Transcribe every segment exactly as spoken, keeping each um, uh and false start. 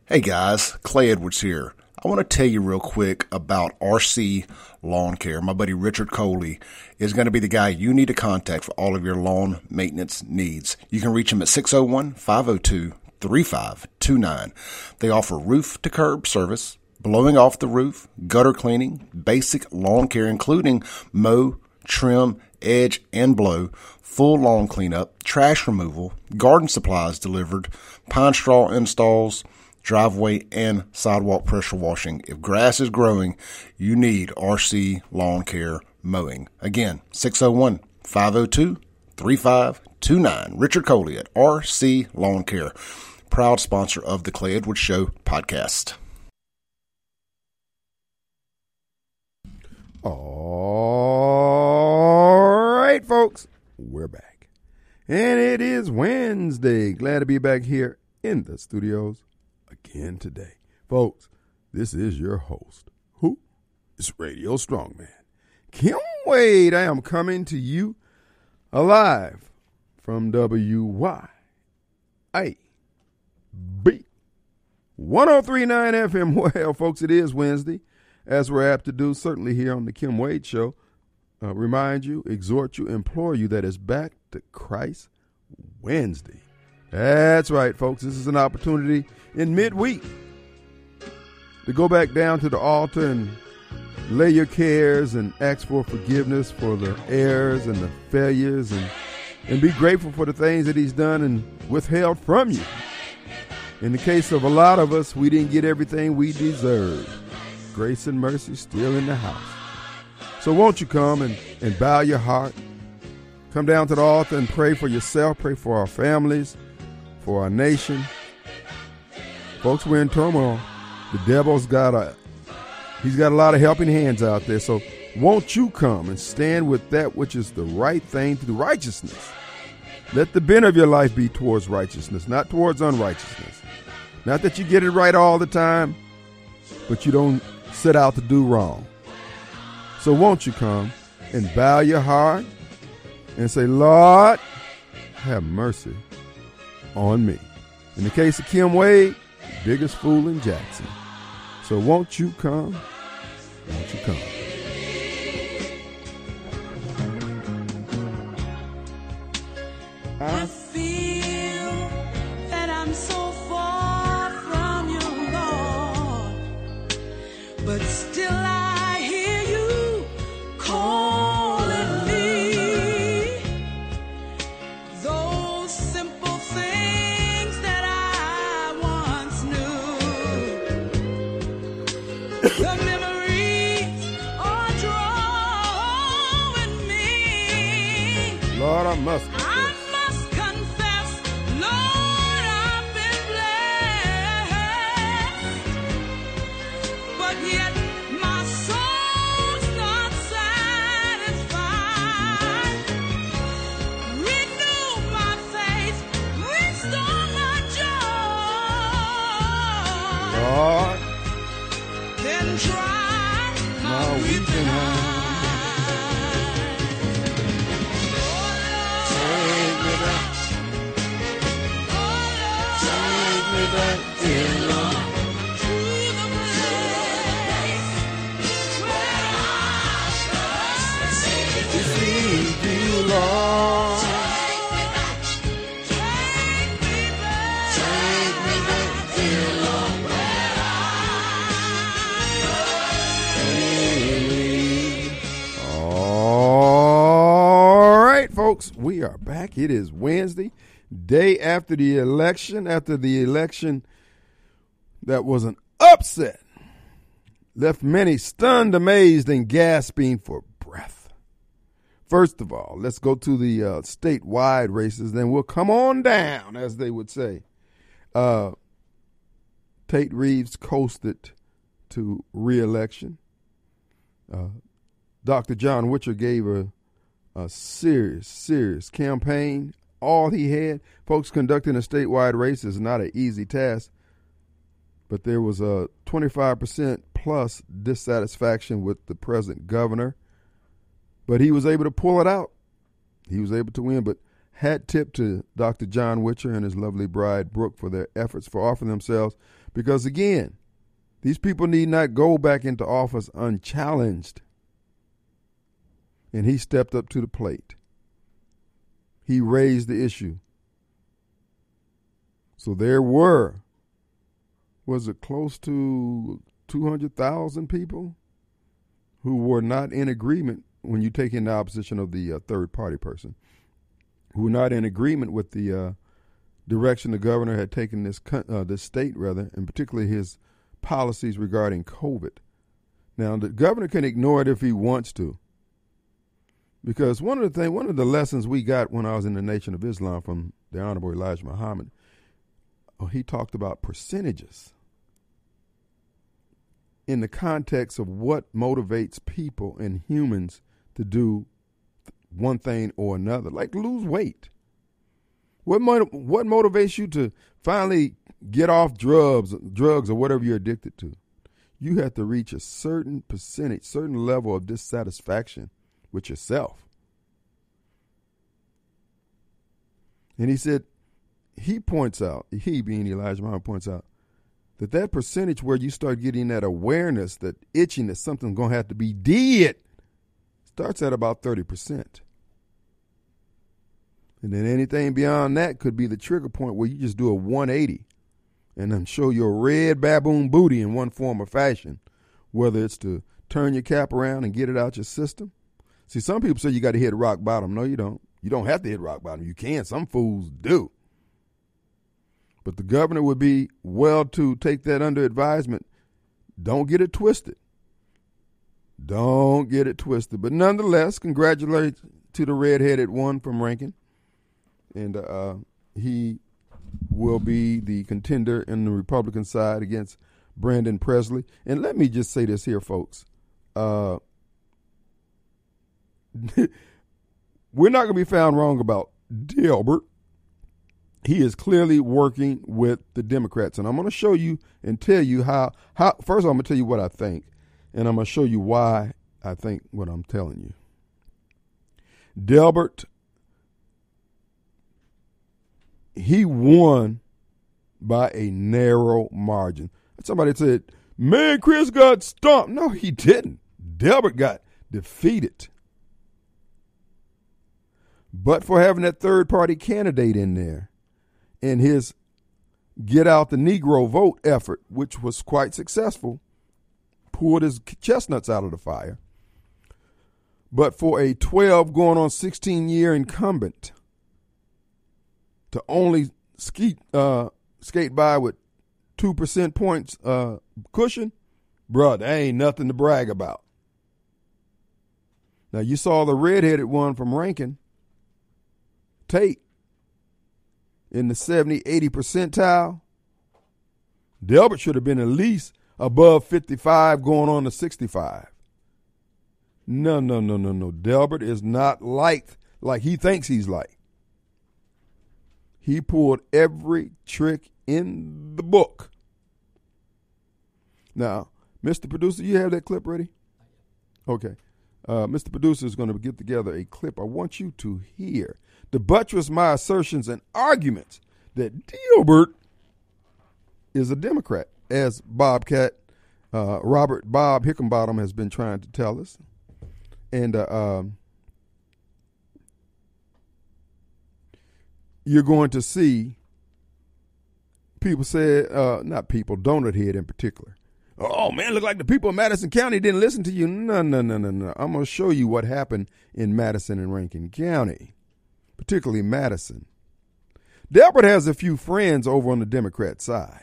Hey guys, Clay Edwards here. I want to tell you real quick about R C Lawn Care. My buddy Richard Coley is going to be the guy you need to contact for all of your lawn maintenance needs. You can reach him at six oh one, five oh two, three five two nine. They offer roof to curb service, blowing off the roof, gutter cleaning, basic lawn care including mow, trim, edge, and blow, full lawn cleanup, trash removal, garden supplies delivered, pine straw installs, driveway and sidewalk pressure washing. If grass is growing, you need R C Lawn Care Mowing. Again, six oh one, five oh two, three five two nine. Richard Coley at R C Lawn Care, proud sponsor of the Clay Edwards Show podcast. All right, folks, we're back. And it is Wednesday. Glad to be back here in the studios again today. Folks, this is your host. Who? It's Radio Strongman, Kim Wade. I am coming to you alive from W Y A B one oh three point nine F M. Well, folks, it is Wednesday, as we're apt to do, certainly here on the Kim Wade Show. Uh, remind you, exhort you, implore you that it's Back to Christ Wednesday. That's right, folks. This is an opportunity in midweek to go back down to the altar and lay your cares and ask for forgiveness for the errors and the failures and, and be grateful for the things that he's done and withheld from you. In the case of a lot of us, we didn't get everything we deserved. Grace and mercy still in the house. So won't you come and, and bow your heart, come down to the altar and pray for yourself, pray for our families, for our nation. Folks, we're in turmoil. The devil's got a, he's got a lot of helping hands out there. So won't you come and stand with that which is the right thing to do, righteousness. Let the bent of your life be towards righteousness, not towards unrighteousness. Not that you get it right all the time, but you don't set out to do wrong. So won't you come and bow your heart and say, Lord, have mercy on me. In the case of Kim Wade, biggest fool in Jackson. So won't you come? Won't you come? I feel that I'm so far from you, Lord, but still I hear you calling me. Those simple things that I once knew, the memories are drawing me. Lord, I must confess. I must confess, Lord, I've been blessed, but yet my soul's not satisfied. Renew my faith, restore my joy. Lord, Then dry my my weeping weeping eyes. take me back, take me back, dear Lord. To the place where I trust To see you, Lord. Take me back, Take me back, dear Lord. All right, folks, we are back. It is Wednesday, day after the election, after the election that was an upset, left many stunned, amazed, and gasping for breath. First of all, let's go to the uh, statewide races, then we'll come on down, as they would say. Uh, Tate Reeves coasted to re-election. Uh, Doctor John Witcher gave a, a serious, serious campaign. All he had, folks, conducting a statewide race is not an easy task, but there was a twenty-five percent plus dissatisfaction with the present governor, but he was able to pull it out. He was able to win, but Hat tip to Doctor John Witcher and his lovely bride, Brooke, for their efforts for offering themselves. Because, again, these people need not go back into office unchallenged. And he stepped up to the plate. He raised the issue. So there were, was it close to two hundred thousand people who were not in agreement when you take in the opposition of the uh, third party person, who were not in agreement with the uh, direction the governor had taken this uh, this state, rather, and particularly his policies regarding COVID. Now, the governor can ignore it if he wants to, because one of the thing, one of the lessons we got when I was in the Nation of Islam from the Honorable Elijah Muhammad, oh, he talked about percentages in the context of what motivates people and humans to do one thing or another, like lose weight. What mo- what motivates you to finally get off drugs, drugs or whatever you're addicted to? You have to reach a certain percentage, certain level of dissatisfaction with yourself. And he said, he points out, he being Elijah Muhammad points out, that that percentage where you start getting that awareness, that itching that something's going to have to be did, starts at about thirty percent. And then anything beyond that could be the trigger point where you just do a one eighty and then show your red baboon booty in one form or fashion, whether it's to turn your cap around and get it out your system. See, some people say you got to hit rock bottom. No, you don't. You don't have to hit rock bottom. You can. Some fools do. But the governor would be well to take that under advisement. Don't get it twisted. Don't get it twisted. But nonetheless, congratulations to the red-headed one from Rankin. And uh, he will be the contender in the Republican side against Brandon Presley. And let me just say this here, folks. Uh, we're not going to be found wrong about Delbert. He is clearly working with the Democrats. And I'm going to show you and tell you how, how first I'm going to tell you what I think, and I'm going to show you why I think what I'm telling you. Delbert, he won by a narrow margin. Somebody said, man, Chris got stomped. No, he didn't. Delbert got defeated. But for having that third-party candidate in there, in his get out the Negro vote effort, which was quite successful, pulled his chestnuts out of the fire. But for a twelve going on sixteen year incumbent to only ski, uh, skate by with two percent points uh, cushion, bruh, that ain't nothing to brag about. Now, you saw the redheaded one from Rankin, Tate, in the seventy, eighty percentile. Delbert should have been at least above fifty-five going on to sixty-five. No, no, no, no, no. Delbert is not liked like he thinks he's liked. He pulled every trick in the book. Now, Mister Producer, you have that clip ready? Okay. Uh, Mister Producer is going to get together a clip I want you to hear to buttress my assertions and arguments that Delbert is a Democrat, as Bobcat, uh, Robert Bob Hickenbottom has been trying to tell us. And uh, um, you're going to see people say, uh, not people, Donut Head in particular. Oh, man, look like the people of Madison County didn't listen to you. No, no, no, no, no. I'm going to show you what happened in Madison and Rankin County, particularly Madison. Delbert has a few friends over on the Democrat side.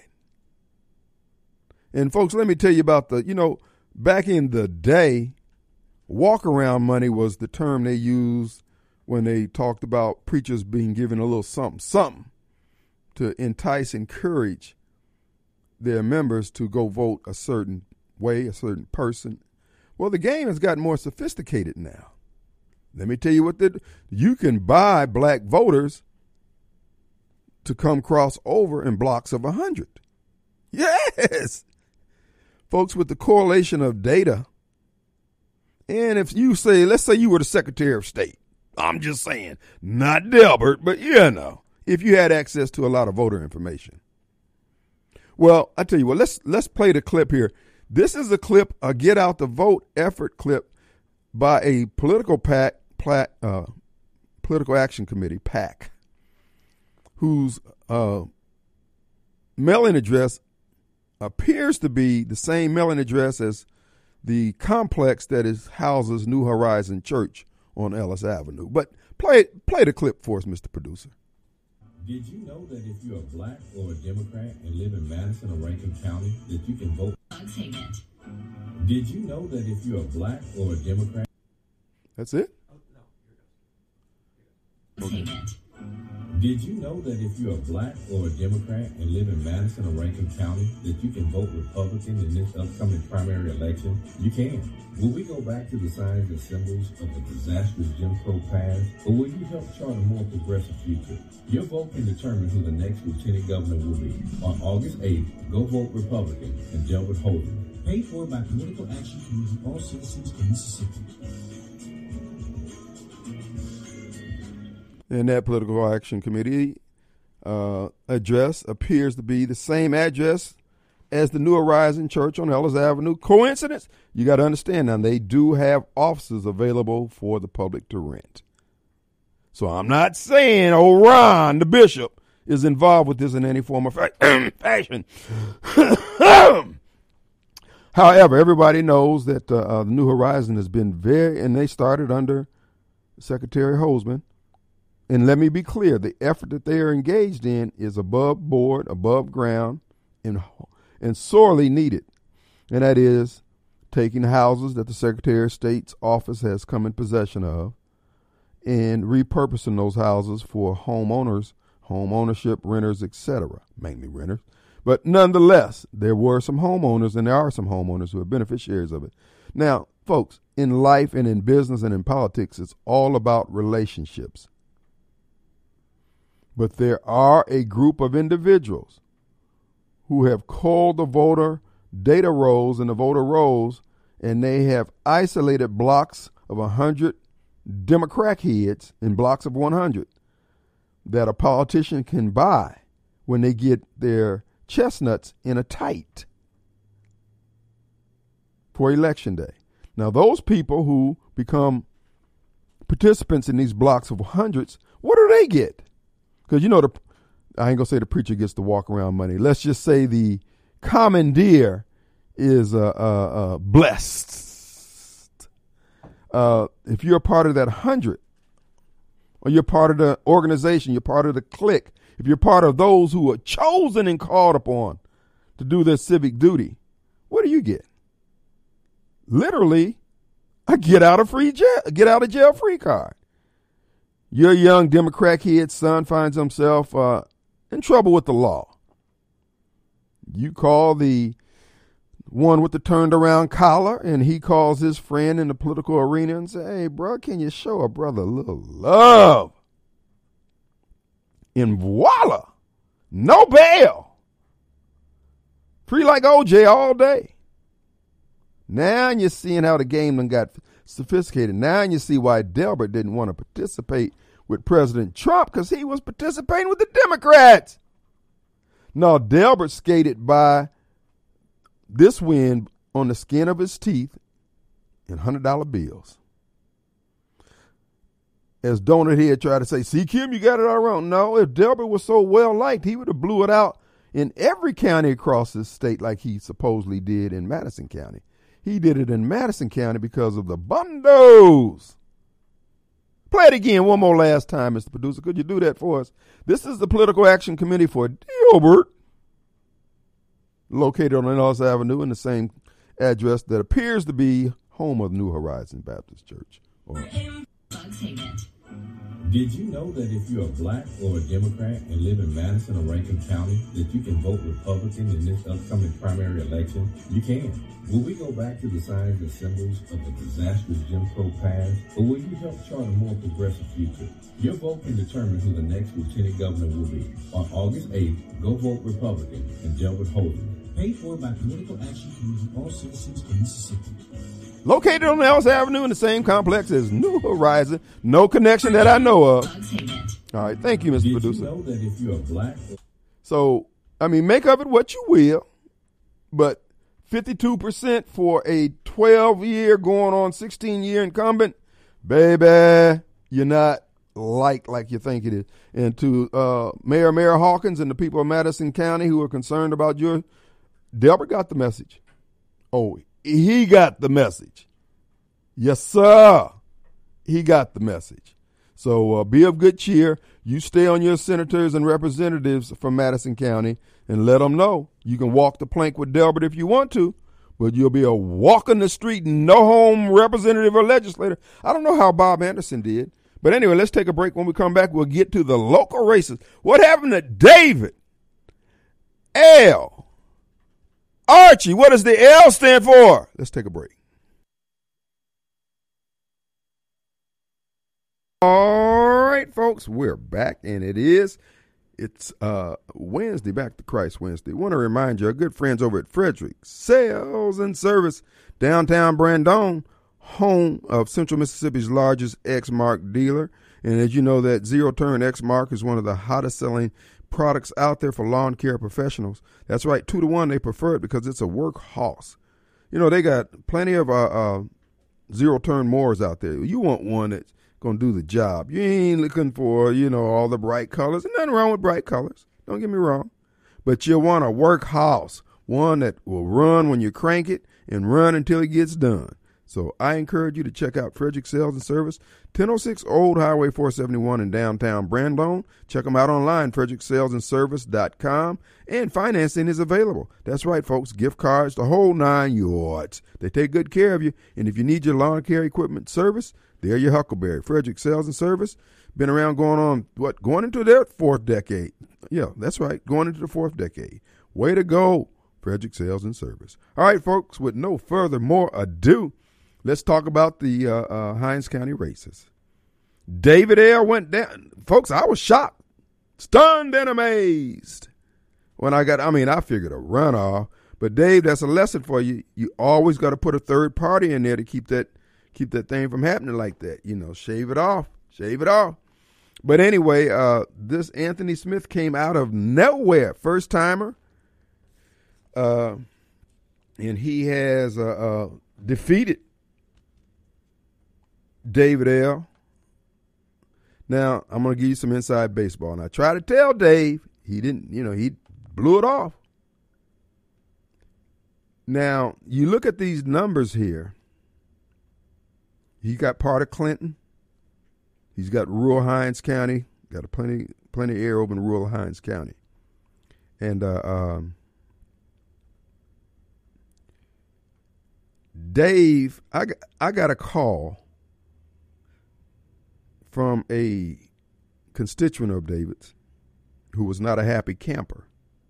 And, folks, let me tell you about the, you know, back in the day, walk-around money was the term they used when they talked about preachers being given a little something, something to entice, encourage their members to go vote a certain way, a certain person. Well, the game has gotten more sophisticated now. Let me tell you what, the, you can buy black voters to come cross over in blocks of one hundred. Yes! Folks, with the correlation of data, and if you say, let's say you were the Secretary of State, I'm just saying, not Delbert, but you know, if you had access to a lot of voter information. Well, I tell you what, let's let's play the clip here. This is a clip, a Get Out the Vote effort clip by a political pack, plat, uh, political action committee, PAC, whose uh, mailing address appears to be the same mailing address as the complex that is houses New Horizon Church on Ellis Avenue. But play play the clip for us, Mister Producer. Did you know that if you're a black or a Democrat and live in Madison or Rankin County, that you can vote? Take it. Did you know that if you're a black or a Democrat? That's it? Oh, no, here it goes. Take it. Did you know that if you're a black or a Democrat and live in Madison or Rankin County, that you can vote Republican in this upcoming primary election? You can. Will we go back to the signs and symbols of a disastrous Jim Crow past, or will you help chart a more progressive future? Your vote can determine who the next lieutenant governor will be. On August eighth, go vote Republican and Delbert Holdren. Paid for by Political Action Committee, all citizens of Mississippi. And that Political Action Committee uh, address appears to be the same address as the New Horizon Church on Ellis Avenue. Coincidence? You got to understand now, they do have offices available for the public to rent. So I'm not saying O'Ron, the bishop, is involved with this in any form of fashion. However, everybody knows that uh, uh, the New Horizon has been very, and they started under Secretary Holzman. And let me be clear, the effort that they are engaged in is above board, above ground, and, and sorely needed. And that is taking houses that the Secretary of State's office has come in possession of and repurposing those houses for homeowners, home ownership, renters, et cetera, mainly renters. But nonetheless, there were some homeowners, and there are some homeowners who are beneficiaries of it. Now, folks, in life and in business and in politics, it's all about relationships. But there are a group of individuals who have called the voter data rolls and the voter rolls, and they have isolated blocks of one hundred Democrat heads in blocks of one hundred that a politician can buy when they get their chestnuts in a tight for election day. Now, those people who become participants in these blocks of hundreds, what do they get? Because, you know, the, I ain't going to say the preacher gets the walk around money. Let's just say the commandeer is uh, uh, uh, blessed. Uh, if you're a part of that hundred, or you're part of the organization, you're part of the clique, if you're part of those who are chosen and called upon to do their civic duty, what do you get? Literally, a get out of free jail, get out of jail free card. Your young Democrat kid's son finds himself uh, in trouble with the law. You call the one with the turned around collar, and he calls his friend in the political arena and say, "Hey, bro, can you show a brother a little love?" And voila, no bail. Free like O J all day. Now you're seeing how the game done got sophisticated. Now you see why Delbert didn't want to participate with President Trump, because he was participating with the Democrats. No, Delbert skated by this win on the skin of his teeth in one hundred dollar bills. As Donut Head tried to say, "See, Kim, you got it all wrong." No, if Delbert was so well liked, he would have blew it out in every county across this state like he supposedly did in Madison County. He did it in Madison County because of the bundos. Play it again one more last time, Mister Producer. Could you do that for us? This is the Political Action Committee for Delbert, located on Ellis Avenue in the same address that appears to be home of New Horizon Baptist Church. Or Did you know that if you're a black or a Democrat and live in Madison or Rankin County, that you can vote Republican in this upcoming primary election? You can. Will we go back to the signs and symbols of a disastrous Jim Crow past, or will you help chart a more progressive future? Your vote can determine who the next lieutenant governor will be. On August eighth, go vote Republican and Delbert Holdren. Paid for by Political Action Committee, all citizens of Mississippi. Located on Ellis Avenue in the same complex as New Horizon. No connection that I know of. All right, thank you, Mister Did Producer. you know that if you're black? So, I mean, make of it what you will, but fifty-two percent for a twelve-year going on sixteen-year incumbent, baby, you're not liked like you think it is. And to uh, Mayor Mayor Hawkins and the people of Madison County who are concerned about your, Delbert got the message. Oh, he got the message. Yes, sir. He got the message. So uh, be of good cheer. You stay on your senators and representatives from Madison County and let them know. You can walk the plank with Delbert if you want to, but you'll be a walk in the street, no home representative or legislator. I don't know how Bob Anderson did. But anyway, let's take a break. When we come back, we'll get to the local races. What happened to David? L. Archie, what does the L stand for? Let's take a break. All right, folks, we're back, and it is, it's uh, Wednesday, Back to Christ Wednesday. I want to remind you, our good friends over at Frederick Sales and Service, downtown Brandon, home of Central Mississippi's largest X-Mark dealer. And as you know, that zero-turn X-Mark is one of the hottest selling products out there for lawn care professionals. That's right, two to one, they prefer it because it's a workhorse. You know, they got plenty of uh, uh, zero-turn mowers out there. You want one that's going to do the job. You ain't looking for, you know, all the bright colors. There's nothing wrong with bright colors. Don't get me wrong. But you want a workhorse, one that will run when you crank it and run until it gets done. So I encourage you to check out Frederick Sales and Service, ten oh six Old Highway four seventy-one in downtown Brandon. Check them out online, frederick sales and service dot com, and financing is available. That's right, folks, gift cards, the whole nine yards. They take good care of you, and if you need your lawn care equipment service, they're your Huckleberry. Frederick Sales and Service, been around going on, what, going into their fourth decade. Yeah, that's right, going into the fourth decade. Way to go, Frederick Sales and Service. All right, folks, with no further more ado, let's talk about the uh, uh, Hinds County races. David L. went down. Folks, I was shocked, stunned and amazed when I got, I mean, I figured a runoff. But, Dave, that's a lesson for you. You always got to put a third party in there to keep that keep that thing from happening like that. You know, shave it off. Shave it off. But anyway, uh, this Anthony Smith came out of nowhere. First timer. Uh, and he has uh, uh, defeated David L. Now, I'm going to give you some inside baseball. And I try to tell Dave, he didn't, you know, he blew it off. Now, you look at these numbers here. He got part of Clinton. He's got rural Hinds County. Got a plenty, plenty of air over in rural Hinds County. And uh, um, Dave, I, I got a call from a constituent of David's who was not a happy camper.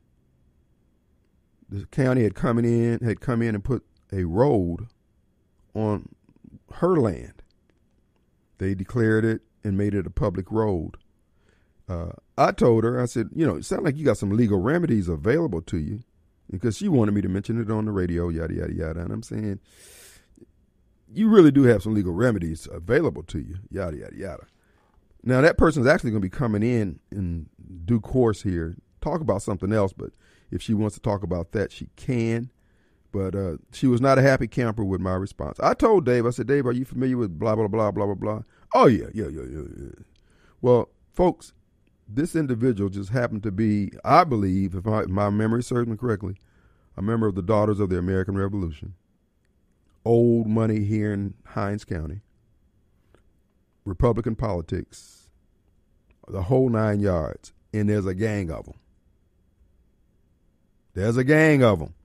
The county had come in, had come in and put a road on her land. They declared it and made it a public road. Uh, I told her, I said, you know, it sounds like you got some legal remedies available to you, because she wanted me to mention it on the radio, yada, yada, yada. And I'm saying, you really do have some legal remedies available to you, yada, yada, yada. Now, that person's actually going to be coming in in due course here, talk about something else, but if she wants to talk about that, she can. But uh, she was not a happy camper with my response. I told Dave, I said, Dave, are you familiar with blah, blah, blah, blah, blah, blah? Oh, yeah, yeah, yeah, yeah, yeah. Well, folks, this individual just happened to be, I believe, if, I, if my memory serves me correctly, a member of the Daughters of the American Revolution. Old money here in Hinds County. Republican politics. The whole nine yards. And there's a gang of them. There's a gang of them.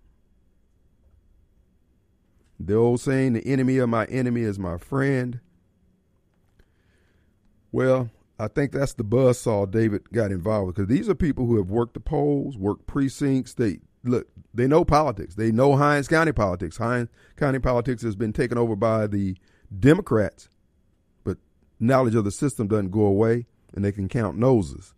The old saying, the enemy of my enemy is my friend. Well, I think that's the buzzsaw David got involved with, because these are people who have worked the polls, worked precincts. They look, they know politics. They know Hinds County politics. Hinds County politics has been taken over by the Democrats, but knowledge of the system doesn't go away, and they can count noses.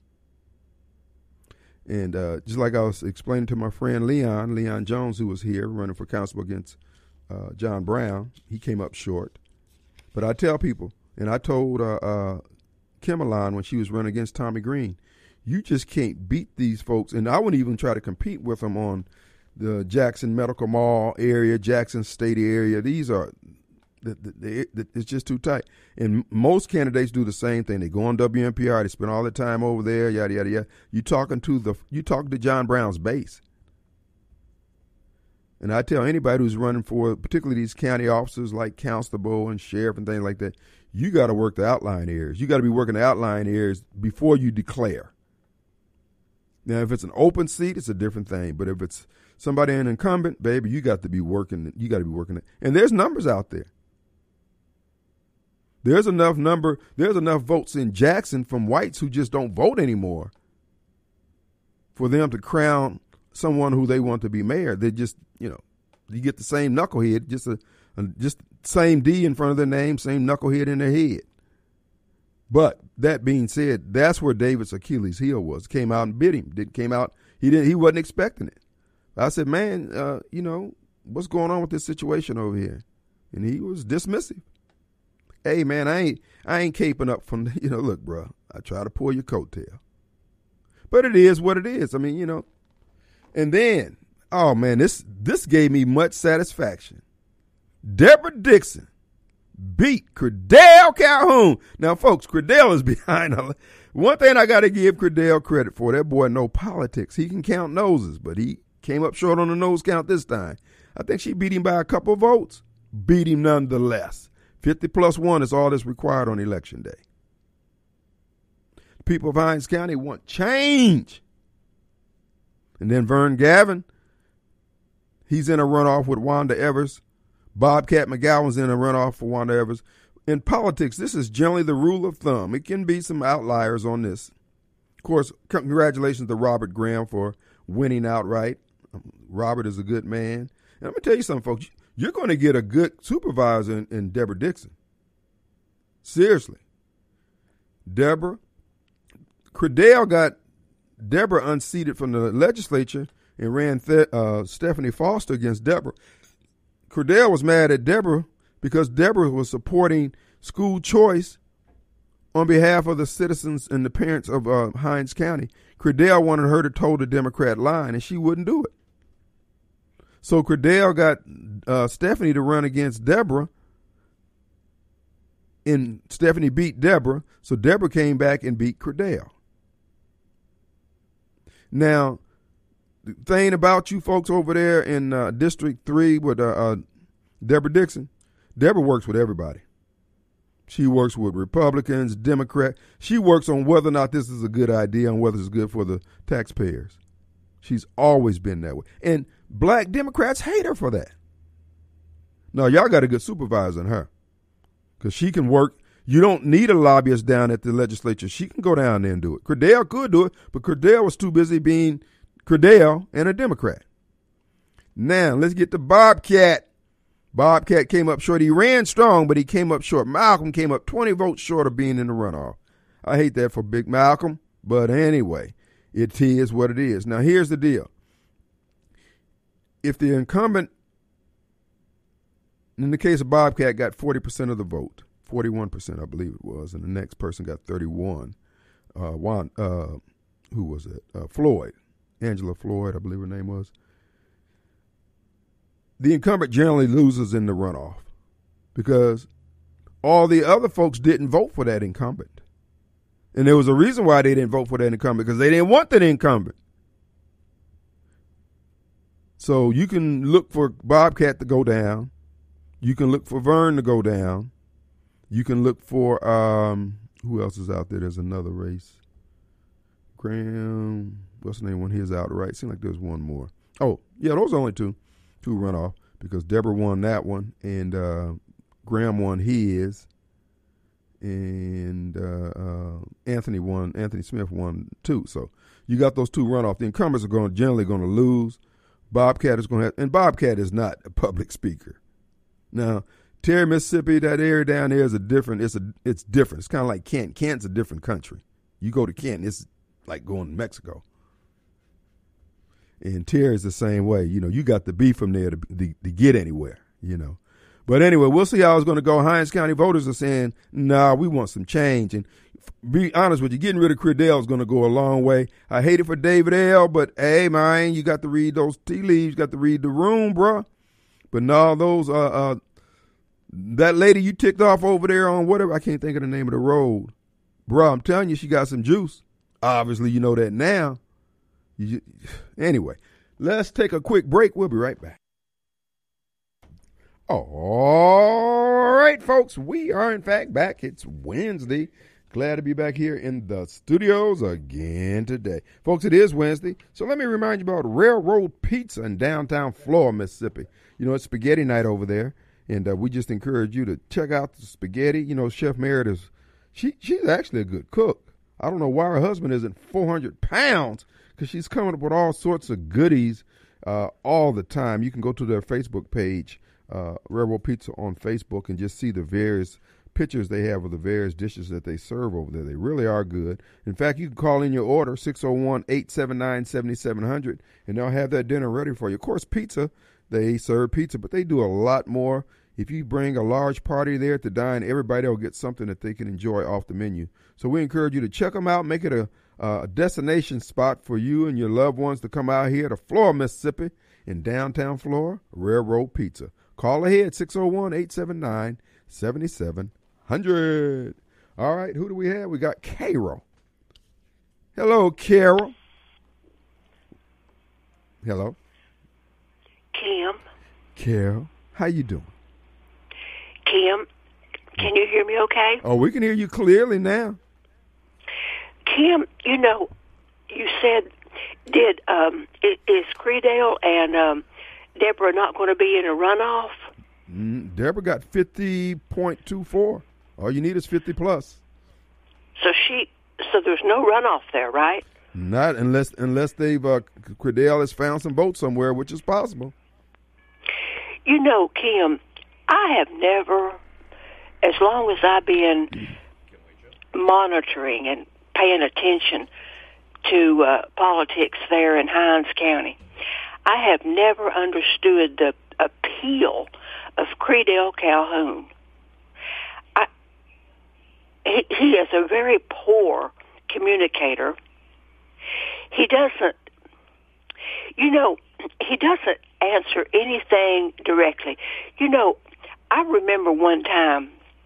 And uh, just like I was explaining to my friend Leon, Leon Jones, who was here running for council against uh, John Brown. He came up short. But I tell people, and I told uh, uh, Kimberline when she was running against Tommy Green, you just can't beat these folks. And I wouldn't even try to compete with them on the Jackson Medical Mall area, Jackson State area. These are, the, the, the, it's just too tight. And most candidates do the same thing. They go on W N P R. They spend all their time over there, yada, yada, yada. You talking to the, you talking to John Brown's base. And I tell anybody who's running for, particularly these county officers like constable and sheriff and things like that, you got to work the outlying areas. You got to be working the outlying areas before you declare. Now, if it's an open seat, it's a different thing. But if it's somebody an incumbent, baby, you got to be working. You got to be working it. And there's numbers out there. There's enough number. There's enough votes in Jackson from whites who just don't vote anymore for them to crown someone who they want to be mayor. They just, you know, you get the same knucklehead, just a, a just same D in front of their name, same knucklehead in their head. But that being said, that's where David's Achilles heel was. Came out and bit him. Did came out. He didn't. He wasn't expecting it. I said, man, uh, you know, what's going on with this situation over here? And he was dismissive. Hey, man, I ain't I ain't caping up from the, you know. Look, bro, I try to pull your coattail, but it is what it is. I mean, you know. And then, oh, man, this this gave me much satisfaction. Deborah Dixon beat Credell Calhoun. Now, folks, Credell is behind her. One thing I got to give Credell credit for, that boy know politics. He can count noses, but he came up short on the nose count this time. I think she beat him by a couple of votes. Beat him nonetheless. fifty plus one is all that's required on election day. The people of Hinds County want change. And then Vern Gavin, he's in a runoff with Wanda Evers. Bobcat McGowan's in a runoff for Wanda Evers. In politics, this is generally the rule of thumb. It can be some outliers on this. Of course, congratulations to Robert Graham for winning outright. Robert is a good man. And I'm going to tell you something, folks. You're going to get a good supervisor in, in Deborah Dixon. Seriously. Deborah. Credell got Deborah unseated from the legislature and ran th- uh, Stephanie Foster against Deborah. Credell was mad at Deborah because Deborah was supporting school choice on behalf of the citizens and the parents of uh, Hinds County. Credell wanted her to toe the Democrat line, and she wouldn't do it. So Credell got uh, Stephanie to run against Deborah, and Stephanie beat Deborah, so Deborah came back and beat Credell. Now, the thing about you folks over there in uh, District three with uh, uh, Deborah Dixon, Deborah works with everybody. She works with Republicans, Democrats. She works on whether or not this is a good idea and whether it's good for the taxpayers. She's always been that way. And black Democrats hate her for that. No, y'all got a good supervisor in her because she can work. You don't need a lobbyist down at the legislature. She can go down there and do it. Credell could do it, but Credell was too busy being Credell and a Democrat. Now, let's get to Bobcat. Bobcat came up short. He ran strong, but he came up short. Malcolm came up twenty votes short of being in the runoff. I hate that for Big Malcolm, but anyway, it is what it is. Now, here's the deal. If the incumbent, in the case of Bobcat, got forty percent of the vote, forty-one percent I believe it was, and the next person got thirty-one. Uh, one, uh, who was it? Uh, Floyd. Angela Floyd, I believe her name was. The incumbent generally loses in the runoff because all the other folks didn't vote for that incumbent. And there was a reason why they didn't vote for that incumbent, because they didn't want that incumbent. So you can look for Bobcat to go down. You can look for Vern to go down. You can look for, um, who else is out there? There's another race. Graham, what's the name when he's out, right? Seems like there's one more. Oh, yeah, those are only two. Two runoff because Deborah won that one and uh, Graham won his and uh, uh, Anthony won. Anthony Smith won two. So you got those two runoff. The incumbents are going generally going to lose. Bobcat is going to have, and Bobcat is not a public speaker. Now Terry, Mississippi, that area down there is a different. It's a it's different. It's kind of like Kent. Kent's a different country. You go to Kent, it's like going to Mexico. And Terry's the same way. You know, you got to be from there to, to, to get anywhere. you know. But anyway, we'll see how it's going to go. Hinds County voters are saying, nah, we want some change. And be honest with you, getting rid of Credell is going to go a long way. I hate it for David L., but hey, man, you got to read those tea leaves, you got to read the room, bruh. But no, those, uh, uh, that lady you ticked off over there on whatever, I can't think of the name of the road. Bruh, I'm telling you, she got some juice. Obviously, you know that now. You, anyway, let's take a quick break. We'll be right back. All right, folks, we are in fact back. It's Wednesday. Glad to be back here in the studios again today. Folks, it is Wednesday, so let me remind you about Railroad Pizza in downtown Florida, Mississippi. You know, it's spaghetti night over there, and uh, we just encourage you to check out the spaghetti. You know, Chef Merritt is, she, she's actually a good cook. I don't know why her husband isn't four hundred pounds, because she's coming up with all sorts of goodies uh, all the time. You can go to their Facebook page, Uh, Railroad Pizza on Facebook, and just see the various pictures they have of the various dishes that they serve over there. They really are good. In fact, you can call in your order, six oh one, eight seven nine, seven seven zero zero, and they'll have that dinner ready for you. Of course, pizza, they serve pizza, but they do a lot more. If you bring a large party there to dine, everybody will get something that they can enjoy off the menu. So we encourage you to check them out, make it a, a destination spot for you and your loved ones to come out here to Florida, Mississippi, in downtown Florida, Railroad Pizza. Call ahead, six oh one, eight seven nine, seven seven zero zero. All right, who do we have? We got Carol. Hello, Carol. Hello. Kim. Carol, how you doing? Kim, can you hear me okay? Oh, we can hear you clearly now. Kim, you know, you said, did um, is, is Credell and um, Deborah not going to be in a runoff? Mm, Deborah got fifty point two four. All you need is fifty plus. So she, so there's no runoff there, right? Not unless unless they've uh, Credell has found some votes somewhere, which is possible. You know, Kim, I have never, as long as I've been monitoring and paying attention to uh, politics there in Hinds County, I have never understood the appeal of Credell Calhoun. I, he, he is a very poor communicator. He doesn't, you know, he doesn't answer anything directly. You know, I remember one time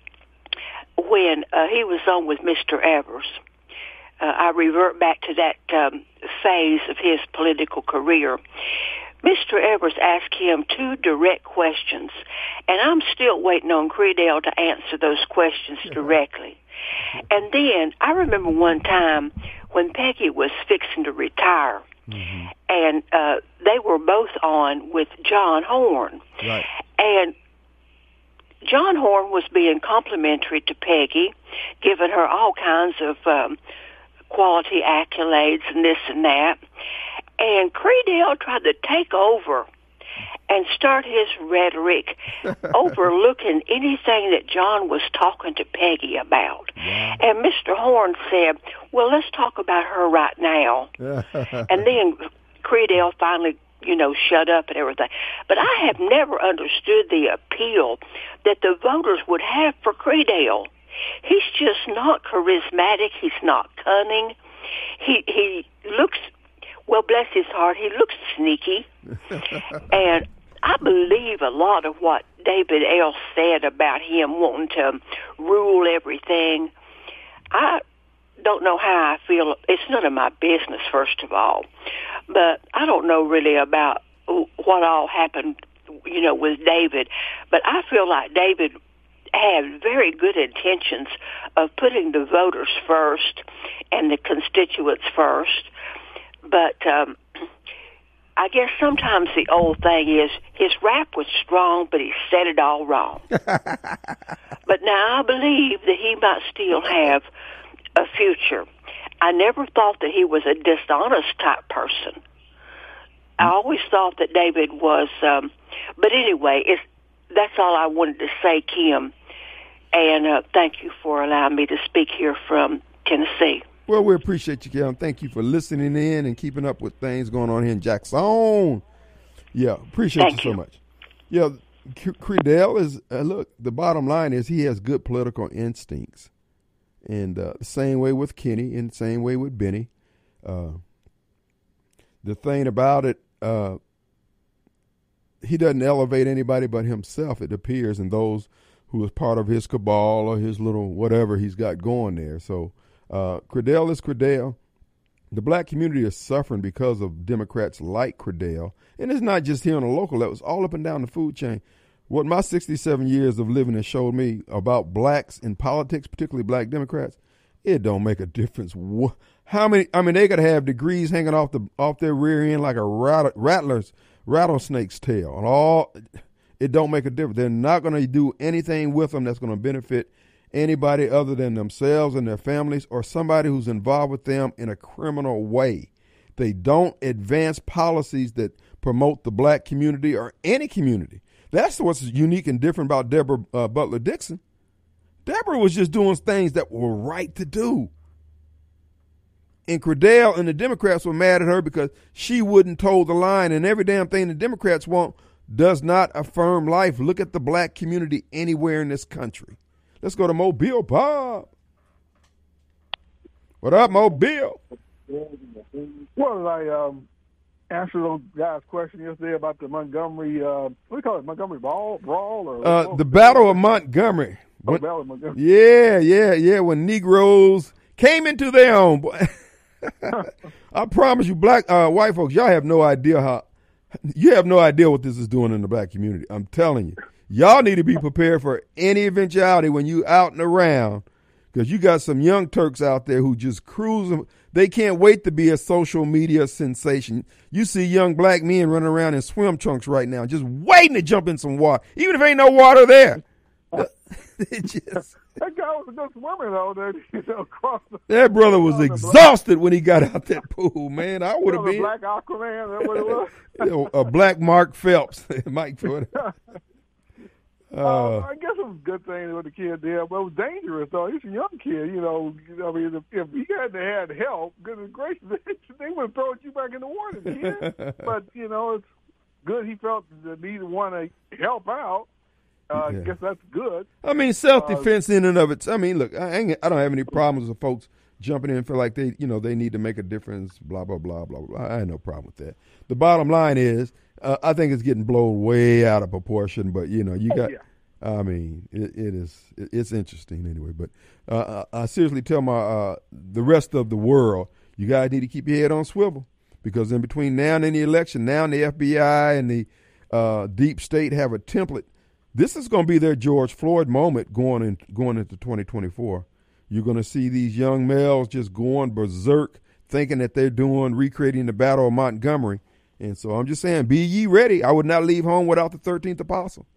when uh, he was on with Mister Evers. Uh, I revert back to that um, phase of his political career. Mister Evers asked him two direct questions, and I'm still waiting on Credell to answer those questions directly. And then I remember one time when Peggy was fixing to retire, mm-hmm. and uh, they were both on with John Horn. Right. And John Horn was being complimentary to Peggy, giving her all kinds of um, quality accolades and this and that. And Credell tried to take over and start his rhetoric, overlooking anything that John was talking to Peggy about. Yeah. And Mister Horn said, well, let's talk about her right now. And then Credell finally, you know, shut up and everything. But I have never understood the appeal that the voters would have for Credell. He's just not charismatic. He's not cunning. He he looks, well, bless his heart, he looks sneaky. And I believe a lot of what David L. said about him wanting to rule everything. I don't know how I feel. It's none of my business, first of all. But I don't know really about what all happened, you know, with David. But I feel like David had very good intentions of putting the voters first and the constituents first. But um, I guess sometimes the old thing is his rap was strong, but he said it all wrong. But now I believe that he might still have a future. I never thought that he was a dishonest type person. I always thought that David was, um, but anyway, it's, that's all I wanted to say, Kim. And uh, thank you for allowing me to speak here from Tennessee. Well, we appreciate you, Kim. Thank you for listening in and keeping up with things going on here in Jackson. Yeah, appreciate Thank you so you. much. Yeah, Credell is, uh, look, the bottom line is he has good political instincts. And uh, the same way with Kenny and the same way with Benny. Uh, the thing about it, uh, he doesn't elevate anybody but himself, it appears, and those who is part of his cabal or his little whatever he's got going there. So uh, Credell is Credell. The black community is suffering because of Democrats like Credell. And it's not just here on the local level. It's all up and down the food chain. What my sixty-seven years of living has showed me about blacks in politics, particularly black Democrats, it don't make a difference. How many, I mean, they got to have degrees hanging off the off their rear end like a rat, rattler's, rattlesnake's tail. And all, it don't make a difference. They're not going to do anything with them that's going to benefit anybody other than themselves and their families or somebody who's involved with them in a criminal way. They don't advance policies that promote the black community or any community. That's what's unique and different about Deborah uh, Butler Dixon. Deborah was just doing things that were right to do. And Credell and the Democrats were mad at her because she wouldn't toe the line, and every damn thing the Democrats want does not affirm life. Look at the black community anywhere in this country. Let's go to Mobile Bob. What up, Mobile? Well, I um, answered those guys' question yesterday about the Montgomery, uh, what do you call it, Montgomery Brawl? brawl or uh, the Battle of Montgomery. Oh, When, Battle of Montgomery. yeah, yeah, yeah. When Negroes came into their own. I promise you, black, uh, white folks, y'all have no idea how, you have no idea what this is doing in the black community. I'm telling you. Y'all need to be prepared for any eventuality when you out and around, because you got some young Turks out there who just cruise. They can't wait to be a social media sensation. You see young black men running around in swim trunks right now, just waiting to jump in some water, even if ain't no water there. It just, that guy was a good swimmer, though. That, you know, across the, that brother was exhausted when he got out that pool, man. I would have been. Black Aquaman, that what it was? You know, a black Mark Phelps. Mike Ford. Uh, I guess it was a good thing what the kid did, but it was dangerous, though. He's a young kid, you know. I mean, if, if he hadn't had help, goodness gracious, they would have thrown you back in the water, kid. But, you know, it's good he felt the need to want to help out. Uh, yeah. I guess that's good. I mean, self-defense uh, in and of it. I mean, look, I, ain't, I don't have any problems with folks jumping in and feel like they, you know, they need to make a difference, blah, blah, blah, blah, blah. I have no problem with that. The bottom line is, uh, I think it's getting blown way out of proportion, but, you know, you got, oh, yeah. I mean, it, it is, it, it's interesting anyway. But uh, I, I seriously tell my, uh, the rest of the world, you guys need to keep your head on swivel, because in between now and the election, now the F B I and the uh, deep state have a template. This is going to be their George Floyd moment going in, going into twenty twenty-four. You're going to see these young males just going berserk, thinking that they're doing, recreating the Battle of Montgomery. And so I'm just saying, be ye ready. I would not leave home without the thirteenth apostle.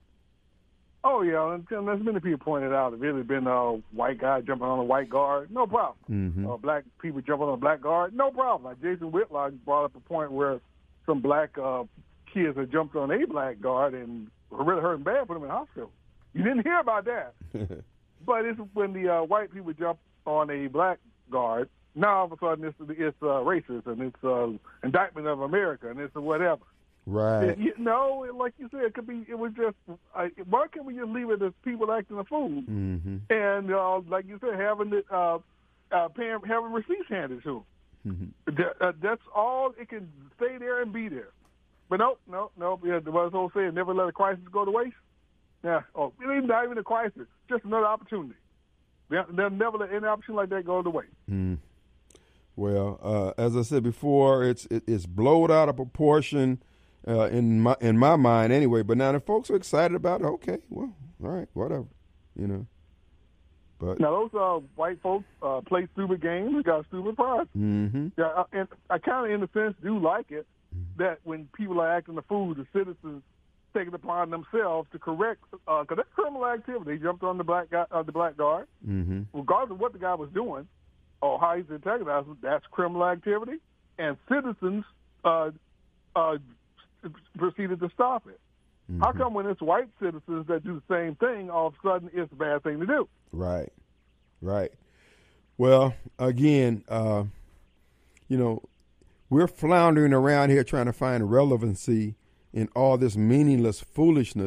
Oh, yeah, and as many people pointed out, if it had been a white guy jumping on a white guard, no problem. Mm-hmm. Uh, black people jumping on a black guard, no problem. Like Jason Whitlock brought up a point where some black uh, kids had jumped on a black guard and really hurt him bad, put him in the hospital. You didn't hear about that. But it's when the uh, white people jump on a black guard, now all of a sudden it's, it's uh, racist and it's uh, indictment of America and it's whatever. Right. It, you know, like you said, it could be. It was just. Uh, why can't we just leave it as people acting a fool? Mm-hmm. And uh, like you said, having it, uh, uh, paying, having receipts handed to them. Mm-hmm. That, uh, that's all. It can stay there and be there. But no, no, no. Yeah, the whole saying, never let a crisis go to waste. Yeah. Oh, it ain't not even a crisis. Just another opportunity. They'll, they'll never let any opportunity like that go to waste. Mm. Well, uh, as I said before, it's it, it's blown out of proportion. Uh, in my in my mind, anyway. But now the folks are excited about it. Okay, well, all right, whatever, you know. But now those uh, white folks uh, play stupid games, got stupid prizes. Mm-hmm. Yeah, I, and I kind of, in a sense, do like it that when people are acting the fool, the citizens take it upon themselves to correct, because uh, that's criminal activity. They jumped on the black guy, uh, the black guard, mm-hmm. regardless of what the guy was doing or how he's antagonized. That's criminal activity, and citizens. Uh, uh, proceeded to stop it. Mm-hmm. How come when it's white citizens that do the same thing, all of a sudden it's a bad thing to do? Right, right. Well, again, uh, you know, we're floundering around here trying to find relevancy in all this meaningless foolishness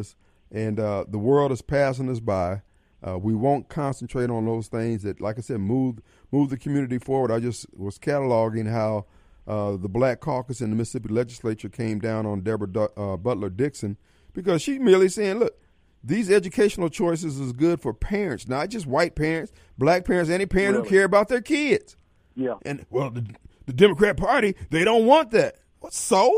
and uh, the world is passing us by. Uh, we won't concentrate on those things that, like I said, move move the community forward. I just was cataloging how uh, the Black Caucus in the Mississippi legislature came down on Deborah du- uh, Butler Dixon because she's merely saying, look, these educational choices is good for parents, not just white parents, black parents, any parent Really? who care about their kids. Yeah. And, well, the, the Democrat Party, they don't want that. What, so?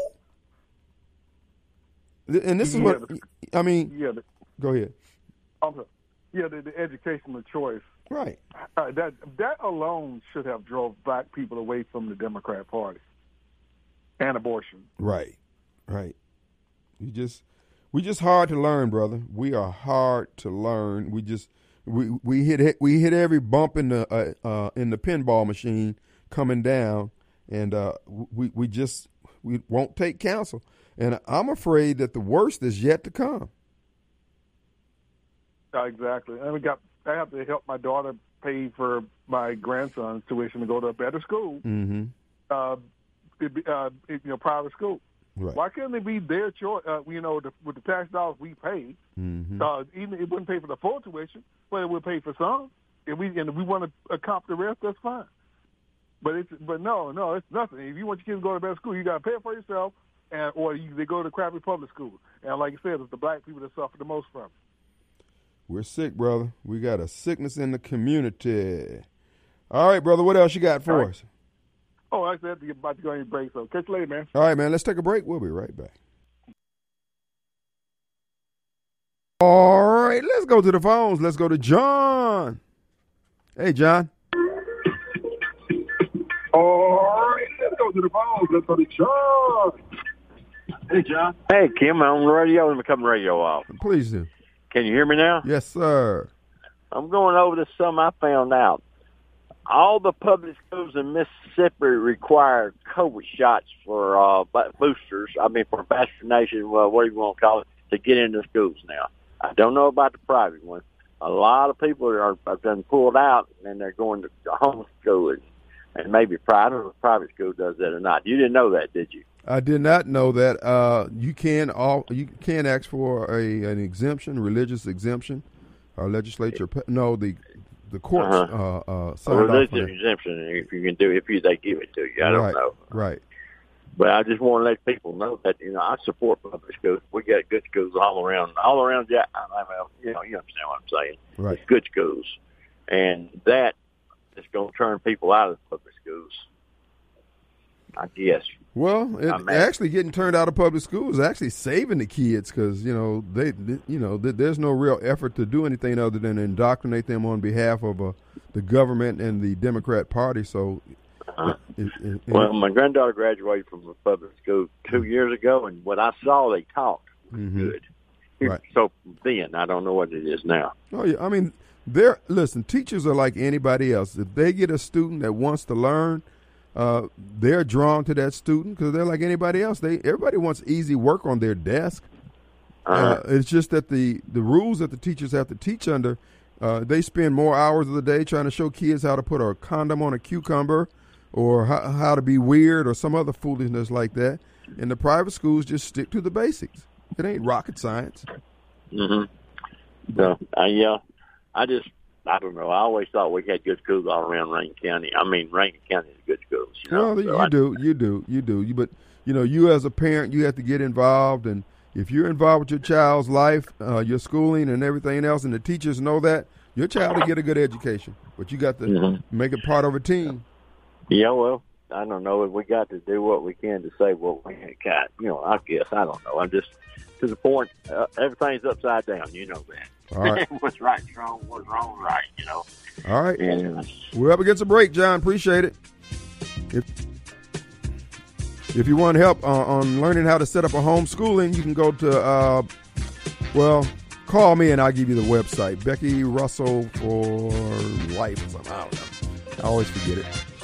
And this is Yeah, what, the- I mean, Yeah. The, go ahead. I'm sorry. Yeah, the, the educational choice. Right. Uh, that that alone should have drove black people away from the Democrat Party and abortion. Right, right. We just we just hard to learn, brother. We are hard to learn. We just we we hit we hit every bump in the uh, uh, in the pinball machine coming down, and uh, we we just we won't take counsel. And I'm afraid that the worst is yet to come. Uh, exactly. And we got. I have to help my daughter pay for my grandson's tuition to go to a better school. Mm-hmm. Uh, it, be- uh, it, you know, private school. Right. Why couldn't it be their choice? Uh, you know, the, with the tax dollars we pay, Mm-hmm. uh, even it wouldn't pay for the full tuition, but it would pay for some. If we and if we want to accomplish the rest, that's fine. But it's but no, no, it's nothing. If you want your kids to go to a better school, you got to pay for yourself, and or you, they go to crappy public school. And like you said, it's the black people that suffer the most from it. We're sick, brother. We got a sickness in the community. All right, brother. What else you got for All right. us? Oh, I said you're about to go on your break, so catch you later, man. All right, man. Let's take a break. We'll be right back. All right, let's go to the phones. Let's go to John. Hey, John. All right, let's go to the phones. Let's go to John. Hey, John. Hey, Kim. I'm on the radio. Let me cut the radio off. Please do. Can you hear me now? Yes, sir. I'm going over this some I found out. All the public schools in Mississippi require COVID shots for uh, boosters. I mean, for vaccination, well, what do you want to call it, to get into schools now. I don't know about the private ones. A lot of people are have been pulled out, and they're going to homeschooling. And maybe private private school does that or not. You didn't know that, did you? I did not know that. Uh, you can all you can ask for a an exemption, religious exemption. Our legislature, no, the the courts Uh-huh. uh, uh, A signed off on religious it. exemption, if you can do, if you they give it to you. I don't right, know. Right. But I just want to let people know that, you know, I support public schools. We got good schools all around, all around. Yeah, I mean, you know, you understand what I'm saying. Right. It's good schools, and that is going to turn people out of public schools, I guess. Well, it, I'm actually getting turned out of public school is actually saving the kids because you know they, they you know th- there's no real effort to do anything other than indoctrinate them on behalf of uh, the government and the Democrat Party. So, Uh, it, it, it, well, my granddaughter graduated from a public school two years ago, and what I saw they taught was Mhm. good. Right. So then, I don't know what it is now. oh yeah, I mean, they're listen. Teachers are like anybody else. If they get a student that wants to learn, uh, they're drawn to that student because they're like anybody else. They everybody wants easy work on their desk. Uh-huh. Uh, it's just that the, the rules that the teachers have to teach under, uh, they spend more hours of the day trying to show kids how to put a condom on a cucumber or how, how to be weird or some other foolishness like that. And the private schools just stick to the basics. It ain't rocket science. Mm-hmm. So, uh, yeah, I just, I don't know. I always thought we had good schools all around Rankin County. I mean, Rankin County is good schools. You know? Well, So you I- do, you do, you do. You, but you know, you as a parent, you have to get involved, and if you're involved with your child's life, uh, your schooling, and everything else, and the teachers know that, your child will get a good education. But you got to Mhm. make it part of a team. Yeah, well, I don't know. If we got to do what we can to save what we got, you know, I guess. I don't know. I'm just, to the point, uh, everything's upside down. You know that. All right. What's right, wrong, what's wrong, right, you know. All right. And, uh, We're up against a break, John. Appreciate it. If, if you want help uh, on learning how to set up a homeschooling, you can go to, uh, well, call me and I'll give you the website. Becky Russell for Life or something. I don't know. I always forget it.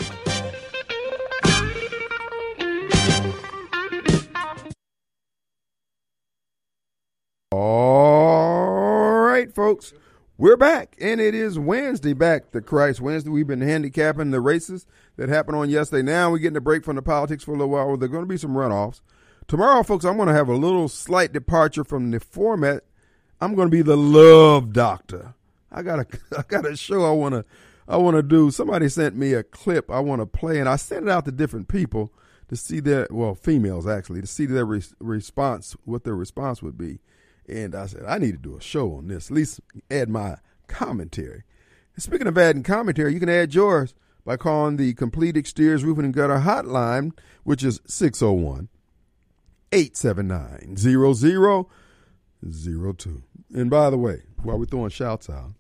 All right, folks. We're back, and it is Wednesday, back to Christ Wednesday. We've been handicapping the races that happened on yesterday. Now we're getting a break from the politics for a little while. There are going to be some runoffs. Tomorrow, folks, I'm going to have a little slight departure from the format I'm going to be the love doctor. I got a, I got a show I want to, I want to do. Somebody sent me a clip I want to play, and I sent it out to different people to see their, well, females actually, to see their re- response, what their response would be. And I said, I need to do a show on this, at least add my commentary. And speaking of adding commentary, you can add yours by calling the Complete Exteriors Roofing and Gutter hotline, which is six oh one, eight seven nine, zero zero zero two. And by the way, while we're throwing shouts out,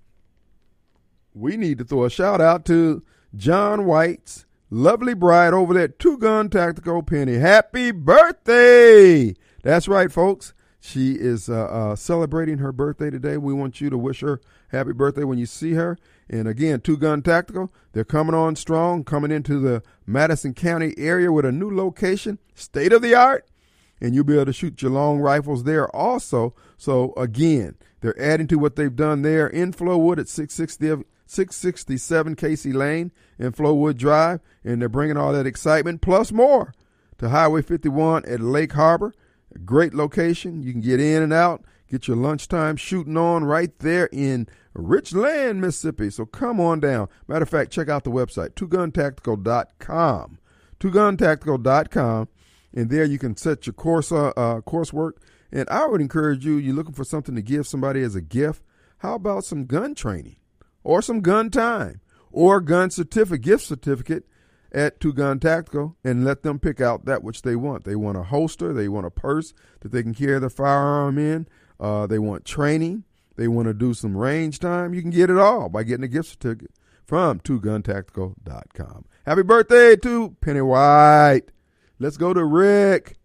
we need to throw a shout out to John White's lovely bride over there at Two Gun Tactical Penny. Happy birthday! That's right, folks. She is uh, uh, celebrating her birthday today. We want you to wish her happy birthday when you see her. And again, Two Gun Tactical, they're coming on strong, coming into the Madison County area with a new location, state of the art. And you'll be able to shoot your long rifles there also. So again, they're adding to what they've done there in Flowood at six sixty-seven Casey Lane and Flowood Drive. And they're bringing all that excitement plus more to Highway fifty-one at Lake Harbor. A great location. You can get in and out, get your lunchtime shooting on right there in Richland, Mississippi. So come on down. Matter of fact, check out the website, two gun tactical dot com. two gun tactical dot com. And there you can set your course uh, uh, coursework. And I would encourage you, you're looking for something to give somebody as a gift. How about some gun training or some gun time or gun certificate, gift certificate at Two Gun Tactical, and let them pick out that which they want. They want a holster. They want a purse that they can carry the firearm in. Uh, they want training. They want to do some range time. You can get it all by getting a gift certificate from two gun tactical dot com. Happy birthday to Penny White. Let's go to Rick.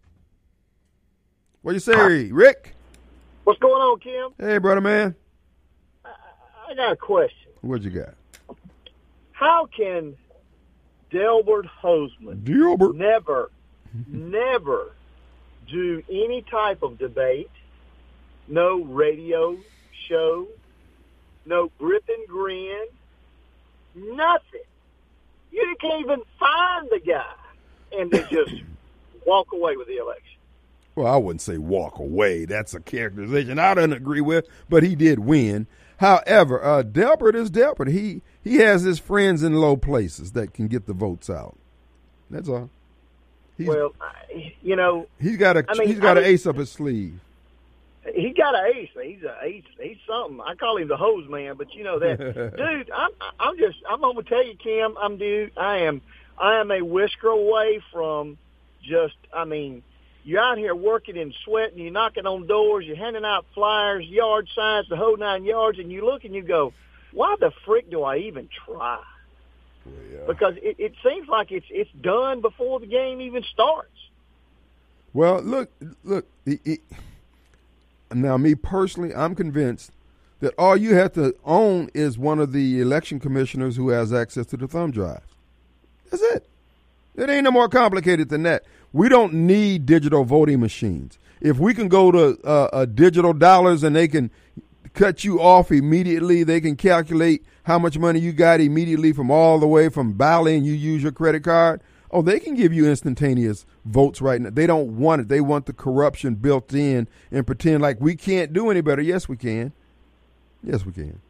What you say, Rick? What's going on, Kim? Hey, brother man. I, I got a question. What you got? How can Delbert Hoseman Delbert. never, never do any type of debate, no radio show, no grip and grin, nothing? You can't even find the guy and then just walk away with the election. Well, I wouldn't say walk away. That's a characterization I don't agree with, but he did win. However, uh, Delbert is Delbert. He he has his friends in low places that can get the votes out. That's all. He's, well, I, you know, he's got a I mean, he's got I an mean, ace up his sleeve. He got an ace. He's a ace. He's something. I call him the hose man, but you know that, dude. I'm I'm just I'm gonna tell you, Kim. I'm dude. I am I am a whisker away from just. I mean. You're out here working and sweating, you're knocking on doors, you're handing out flyers, yard signs, the whole nine yards, and you look and you go, why the frick do I even try? Yeah. Because it, it seems like it's it's done before the game even starts. Well, look, look. It, it, now, me personally, I'm convinced that all you have to own is one of the election commissioners who has access to the thumb drive. That's it. It ain't no more complicated than that. We don't need digital voting machines. If we can go to uh, uh, digital dollars and they can cut you off immediately, they can calculate how much money you got immediately from all the way from Bally and you use your credit card. Oh, they can give you instantaneous votes right now. They don't want it. They want the corruption built in and pretend like we can't do any better. Yes, we can. Yes, we can.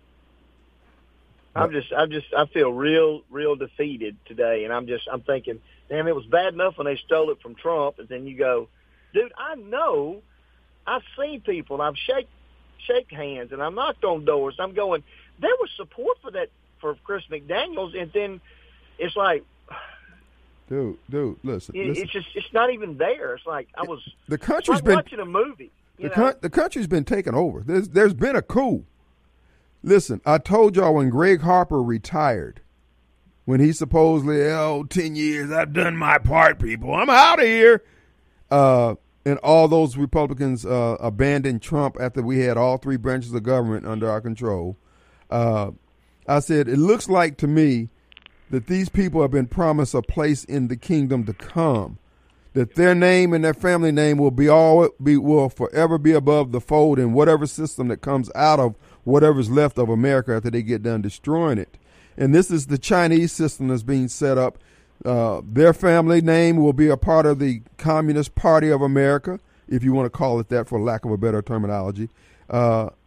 I'm just, I'm just, I feel real, real defeated today, and I'm just, I'm thinking, damn, it was bad enough when they stole it from Trump, and then you go, dude, I know, I've seen people, and I've shake, shake hands, and I knocked on doors. I'm going, there was support for that for Chris McDaniels, and then it's like, dude, dude, listen, it, listen. it's just, it's not even there. It's like I was, the country's like been watching a movie. The, con- the country's been taken over. There's, there's been a coup. Listen, I told y'all when Greg Harper retired, when he supposedly, oh, ten years, I've done my part, people. I'm out of here. Uh, and all those Republicans uh, abandoned Trump after we had all three branches of government under our control. Uh, I said, it looks like to me that these people have been promised a place in the kingdom to come, that their name and their family name will be all be will forever be above the fold in whatever system that comes out of whatever's left of America after they get done destroying it. And this is the Chinese system that's being set up. Uh, their family name will be a part of the Communist Party of America, if you want to call it that for lack of a better terminology. Uh,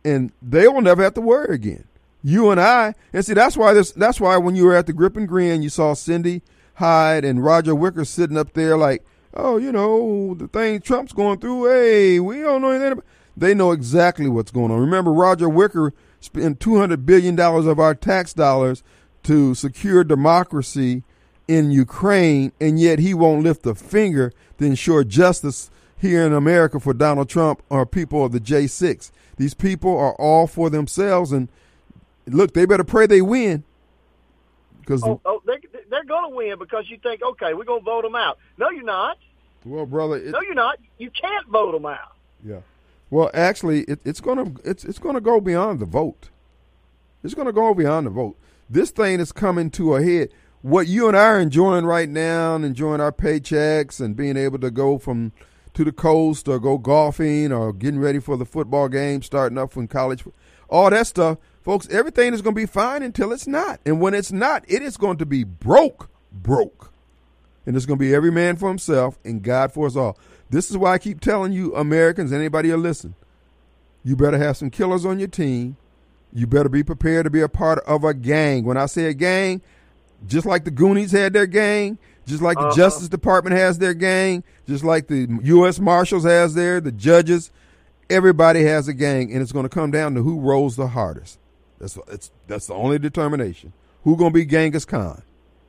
and they will never have to worry again. You and I, and see, that's why this. That's why when you were at the Grip and Grin, you saw Cindy Hyde and Roger Wicker sitting up there like, oh, you know, the thing Trump's going through. Hey, we don't know anything about. They know exactly what's going on. Remember, Roger Wicker spent two hundred billion dollars of our tax dollars to secure democracy in Ukraine, and yet he won't lift a finger to ensure justice here in America for Donald Trump or people of the J six. These people are all for themselves, and look, they better pray they win. Because oh, oh, they, they're going to win because you think, okay, we're going to vote them out. No, you're not. Well, brother, it, no, you're not. You can't vote them out. Yeah. Well, actually, it, it's gonna it's it's gonna go beyond the vote. It's gonna go beyond the vote. This thing is coming to a head. What you and I are enjoying right now, and enjoying our paychecks and being able to go from to the coast or go golfing or getting ready for the football game, starting up from college, all that stuff, folks. Everything is going to be fine until it's not, and when it's not, it is going to be broke, broke, and it's going to be every man for himself and God for us all. This is why I keep telling you, Americans, anybody who listen, you better have some killers on your team. You better be prepared to be a part of a gang. When I say a gang, just like the Goonies had their gang, just like uh-huh. the Justice Department has their gang, just like the U S Marshals has their, the judges, everybody has a gang, and it's going to come down to who rolls the hardest. That's it's, that's the only determination. Who's going to be Genghis Khan?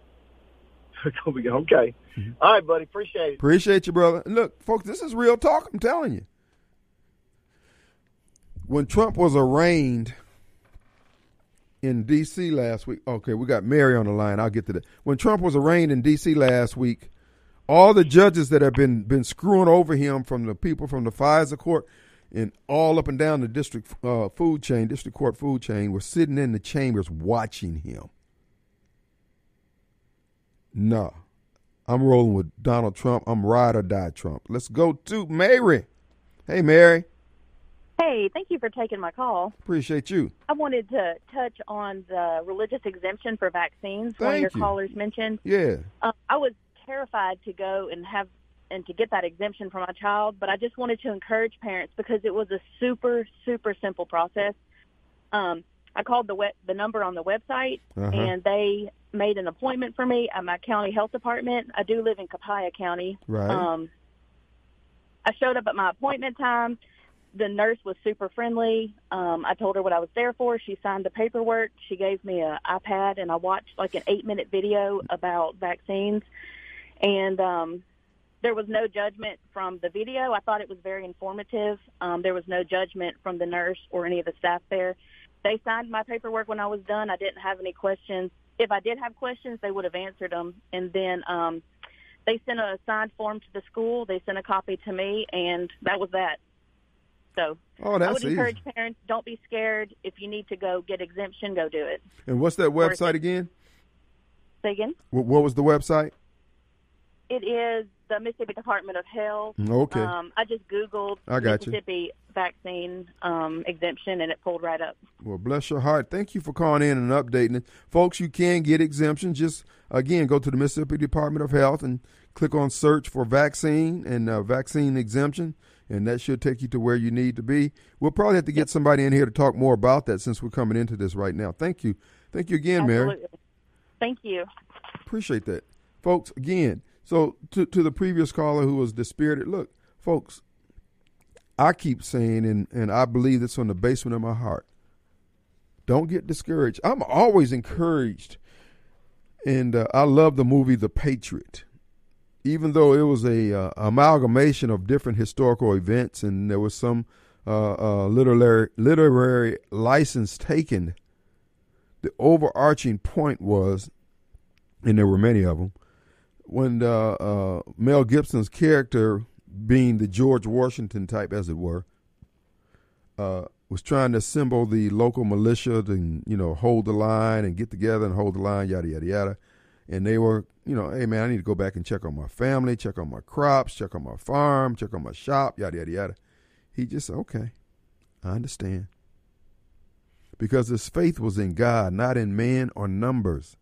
Okay. Mm-hmm. All right, buddy. Appreciate it. Appreciate you, brother. And look, folks, this is real talk. I'm telling you. When Trump was arraigned in D C last week, okay, we got Mary on the line. I'll get to that. When Trump was arraigned in D C last week, all the judges that have been been screwing over him, from the people from the FISA court and all up and down the district uh, food chain, district court food chain, were sitting in the chambers watching him. No, I'm rolling with Donald Trump. I'm ride or die Trump. Let's go to Mary. Hey, Mary. Hey, thank you for taking my call. Appreciate you. I wanted to touch on the religious exemption for vaccines. Thank one of your you. callers mentioned. Yeah. Uh, I was terrified to go and have and to get that exemption for my child, but I just wanted to encourage parents because it was a super, super simple process. Um, I called the web, the number on the website, uh-huh. and they made an appointment for me at my county health department. I do live in Copiah County. Right. Um, I showed up at my appointment time. The nurse was super friendly. Um, I told her what I was there for. She signed the paperwork. She gave me an iPad, and I watched like an eight-minute video about vaccines. And um, there was no judgment from the video. I thought it was very informative. Um, there was no judgment from the nurse or any of the staff there. They signed my paperwork when I was done. I didn't have any questions. If I did have questions, they would have answered them. And then um, they sent a signed form to the school. They sent a copy to me, and that was that. So oh, that's I would encourage easy. parents, don't be scared. If you need to go get exemption, go do it. And what's that website again? Say again? What, what was the website? It is the Mississippi Department of Health. Okay. Um, I just Googled I got Mississippi you. vaccine um, exemption, and it pulled right up. Well, bless your heart. Thank you for calling in and updating it. Folks, you can get exemptions. Just, again, go to the Mississippi Department of Health and click on search for vaccine and uh, vaccine exemption, and that should take you to where you need to be. We'll probably have to get somebody in here to talk more about that since we're coming into this right now. Thank you. Thank you again, Absolutely. Mary. Thank you. Appreciate that. Folks, again, so to, to the previous caller who was dispirited, look, folks, I keep saying, and, and I believe this from the basement of my heart, don't get discouraged. I'm always encouraged, and uh, I love the movie The Patriot. Even though it was a uh, amalgamation of different historical events and there was some uh, uh, literary literary license taken, the overarching point was, and there were many of them, when uh, uh, Mel Gibson's character, being the George Washington type, as it were, uh, was trying to assemble the local militia to, you know, hold the line and get together and hold the line, yada, yada, yada. And they were, you know, hey, man, I need to go back and check on my family, check on my crops, check on my farm, check on my shop, yada, yada, yada. He just said, okay, I understand. Because his faith was in God, not in man or numbers.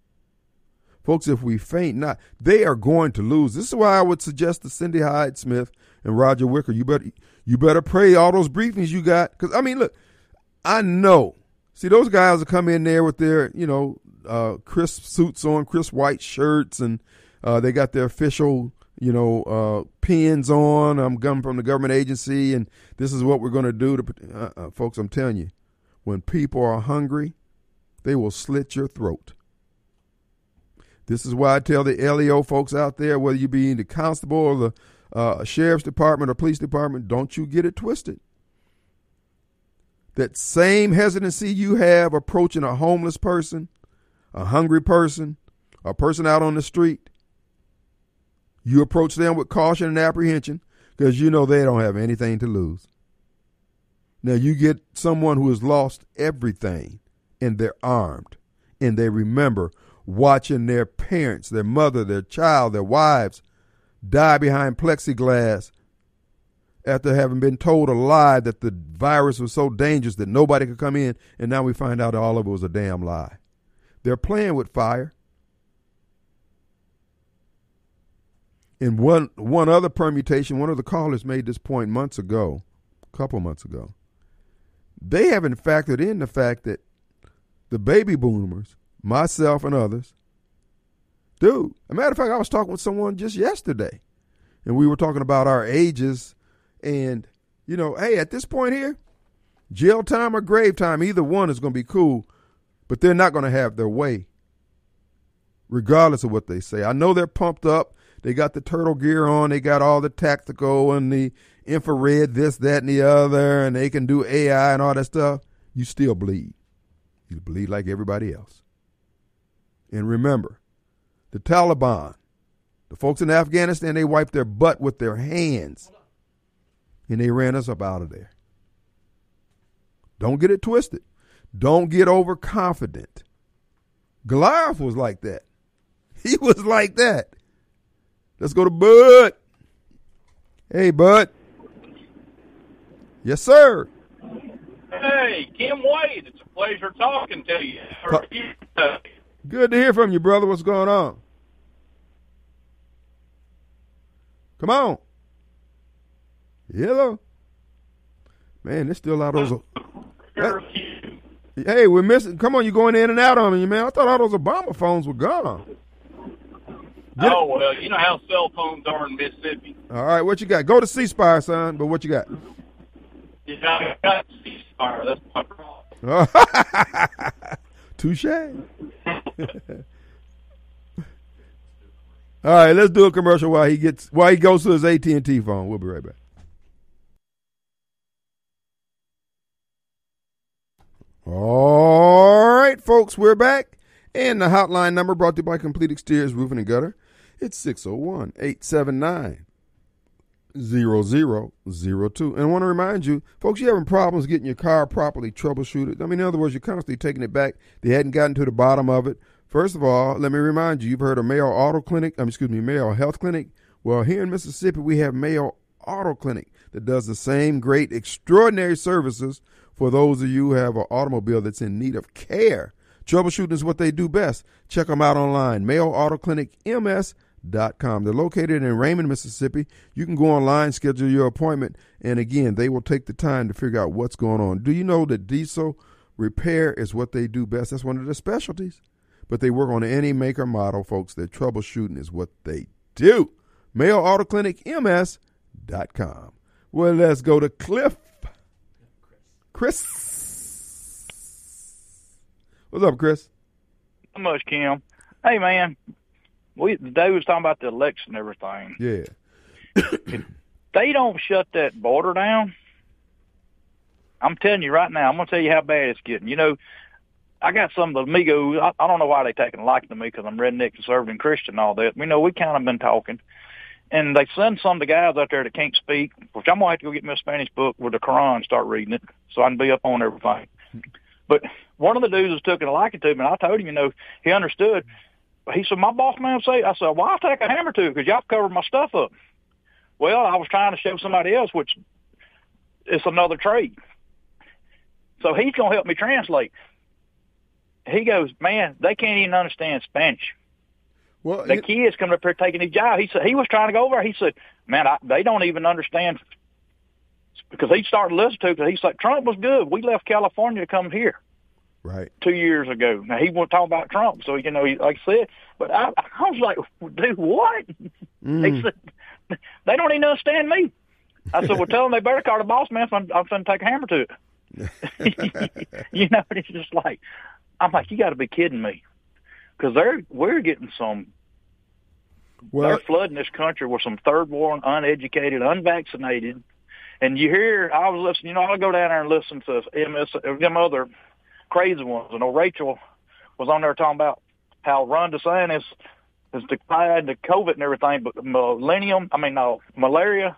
Folks, if we faint not, they are going to lose. This is why I would suggest to Cindy Hyde Smith and Roger Wicker, you better, you better pray all those briefings you got. Because, I mean, look, I know. See, those guys will come in there with their, you know, uh, crisp suits on, crisp white shirts, and uh, they got their official, you know, uh, pins on. I'm coming from the government agency, and this is what we're going to do. To uh, uh, folks, I'm telling you, when people are hungry, they will slit your throat. This is why I tell the L E O folks out there, whether you be in the constable or the uh, sheriff's department or police department, don't you get it twisted. That same hesitancy you have approaching a homeless person, a hungry person, a person out on the street, you approach them with caution and apprehension because you know they don't have anything to lose. Now you get someone who has lost everything and they're armed and they remember watching their parents, their mother, their child, their wives die behind plexiglass after having been told a lie that the virus was so dangerous that nobody could come in, and now we find out all of it was a damn lie. They're playing with fire. In one one other permutation, one of the callers made this point months ago, a couple months ago. They haven't factored in the fact that the baby boomers, myself and others, dude, as a matter of fact, I was talking with someone just yesterday, and we were talking about our ages, and, you know, hey, at this point here, jail time or grave time, either one is going to be cool, but they're not going to have their way, regardless of what they say. I know they're pumped up. They got the turtle gear on. They got all the tactical and the infrared, this, that, and the other, and they can do A I and all that stuff. You still bleed. You bleed like everybody else. And remember, the Taliban, the folks in Afghanistan, they wiped their butt with their hands, and they ran us up out of there. Don't get it twisted. Don't get overconfident. Goliath was like that. He was like that. Let's go to Bud. Hey, Bud. Yes, sir. Hey, Kim Wade. It's a pleasure talking to you. How are you today? Good to hear from you, brother. What's going on? Come on. Hello. Man, there's still a lot of those. Uh, hey, we're missing. Come on, you're going in and out on me, man. I thought all those Obama phones were gone. Get oh, well, you know how cell phones are in Mississippi. All right, what you got? Go to C Spire, son, but what you got? Yeah, I got C Spire. That's my problem. Touche. All right, let's do a commercial while he gets while he goes to his A T and T phone. We'll be right back. All right, folks, we're back. And the hotline number brought to you by Complete Exteriors Roofing and Gutter. It's six oh one, eight seven nine, zero zero zero two. And I want to remind you, folks, you're having problems getting your car properly troubleshooted. I mean, in other words, you're constantly taking it back. They hadn't gotten to the bottom of it. First of all, let me remind you, you've heard of Mayo Auto Clinic, um, excuse me, Mayo Health Clinic. Well, here in Mississippi, we have Mayo Auto Clinic that does the same great, extraordinary services for those of you who have an automobile that's in need of care. Troubleshooting is what they do best. Check them out online, Mayo Auto Clinic M S dot com. They're located in Raymond, Mississippi. You can go online, schedule your appointment, and again, they will take the time to figure out what's going on. Do you know that diesel repair is what they do best? That's one of their specialties. But they work on any maker model, folks. Their troubleshooting is what they do. Mayo Auto Clinic M S dot com. Well, let's go to Cliff. Chris. What's up, Chris? Not much, Kim. Hey, man. We today was talking about the election and everything. Yeah. If they don't shut that border down, I'm telling you right now, I'm going to tell you how bad it's getting. You know, I got some of the amigos. I, I don't know why they taking a liking to me because I'm redneck, conservative, and Christian and all that. We know we kind of been talking. And they send some of the guys out there that can't speak, which I'm going to have to go get me a Spanish book with the Quran and start reading it so I can be up on everything. But one of the dudes was taking a liking to me, and I told him, you know, he understood. He said, my boss man say, I said, well, I'll take a hammer to because y'all covered my stuff up. Well, I was trying to show somebody else, which is another trade. So he's going to help me translate. He goes, man, they can't even understand Spanish. Well, the it, kids come up here taking his job. He said he was trying to go over there. He said, man, I, they don't even understand because he started listening to it because he's like, Trump was good. We left California to come here. Right. Two years ago. Now, he wasn't talking about Trump, so, you know, he, like I said, but I, I was like, dude, what? Mm. He said, they don't even understand me. I said, well, tell them they better call the boss man if I'm, I'm going to take a hammer to it. You know, it's just like, I'm like, you got to be kidding me. Because they're, we're getting some, well, they're flooding this country with some third world, uneducated, unvaccinated. And you hear, I was listening, you know, I'll go down there and listen to M S, them other crazy ones. I know Rachel was on there talking about how Ron DeSantis has declared the COVID and everything, but millennium, I mean, no, malaria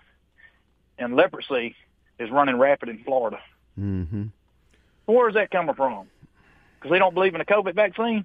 and leprosy is running rapid in Florida. Mm-hmm. Where is that coming from? Because they don't believe in the COVID vaccine?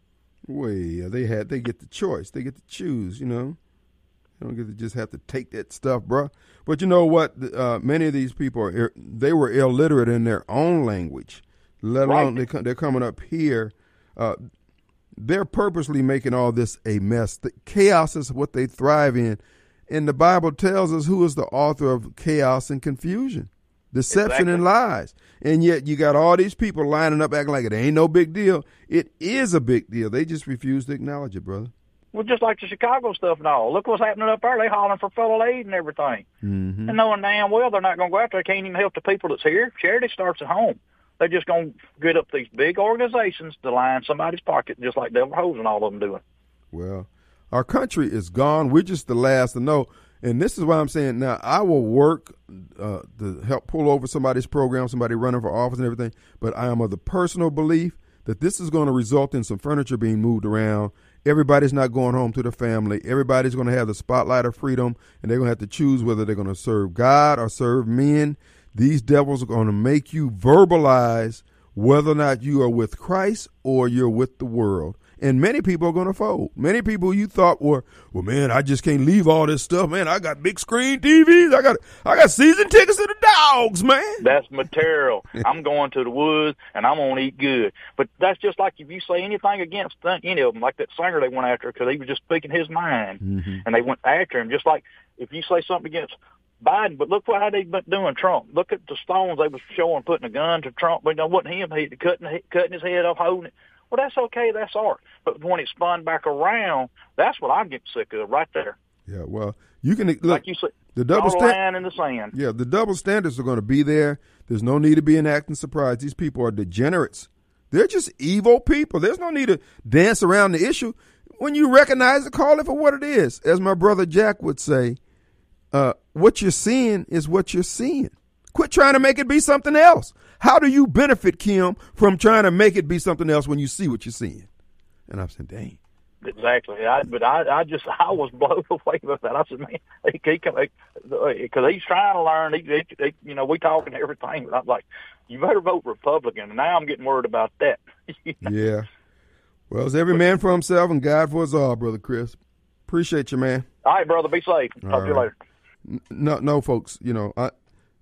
Well, yeah, they had, they get the choice. They get to choose, you know. They don't get to just have to take that stuff, bro. But you know what? Uh, many of these people, are, they were illiterate in their own language. Let alone right. they, they're coming up here. Uh, they're purposely making all this a mess. The chaos is what they thrive in. And the Bible tells us who is the author of chaos and confusion, deception exactly. and lies. And yet you got all these people lining up acting like it ain't no big deal. It is a big deal. They just refuse to acknowledge it, brother. Well, just like the Chicago stuff and all. Look what's happening up there. They hollering for federal aid and everything. Mm-hmm. And knowing damn well they're not going to go out there. They can't even help the people that's here. Charity starts at home. They're just going to get up these big organizations to line somebody's pocket, just like Delbert Hose and all of them doing. Well, our country is gone. We're just the last to know. And this is why I'm saying now I will work uh, to help pull over somebody's program, somebody running for office and everything. But I am of the personal belief that this is going to result in some furniture being moved around. Everybody's not going home to the family. Everybody's going to have the spotlight of freedom, and they're going to have to choose whether they're going to serve God or serve men. These devils are going to make you verbalize whether or not you are with Christ or you're with the world. And many people are going to fold. Many people you thought were, well, man, I just can't leave all this stuff. Man, I got big screen T Vs. I got I got season tickets to the dogs, man. That's material. I'm going to the woods, and I'm going to eat good. But that's just like if you say anything against any of them, like that singer they went after because he was just speaking his mind, mm-hmm. and they went after him. Just like if you say something against Biden, but look what how they've been doing Trump. Look at the stones they was showing, putting a gun to Trump. But it wasn't him. He cutting cutting his head off, holding it. Well, that's okay. That's art. But when it spun back around, that's what I'm getting sick of right there. Yeah, well, you can look. Like you said, the double stand line in the sand. Yeah, the double standards are going to be there. There's no need to be acting surprised. These people are degenerates. They're just evil people. There's no need to dance around the issue. When you recognize it, call it for what it is. As my brother Jack would say, uh, what you're seeing is what you're seeing. Quit trying to make it be something else. How do you benefit, Kim, from trying to make it be something else when you see what you're seeing? And I'm saying, dang. Exactly. I, but I, I just, I was blown away with that. I said, man, he, he because he's trying to learn. He, he, he, you know, we talking everything. But I'm like, you better vote Republican. And now I'm getting worried about that. Yeah. Well, it's every man for himself and God for us all, Brother Chris. Appreciate you, man. All right, brother. Be safe. Talk all to you right. later. No, no, folks. You know, I.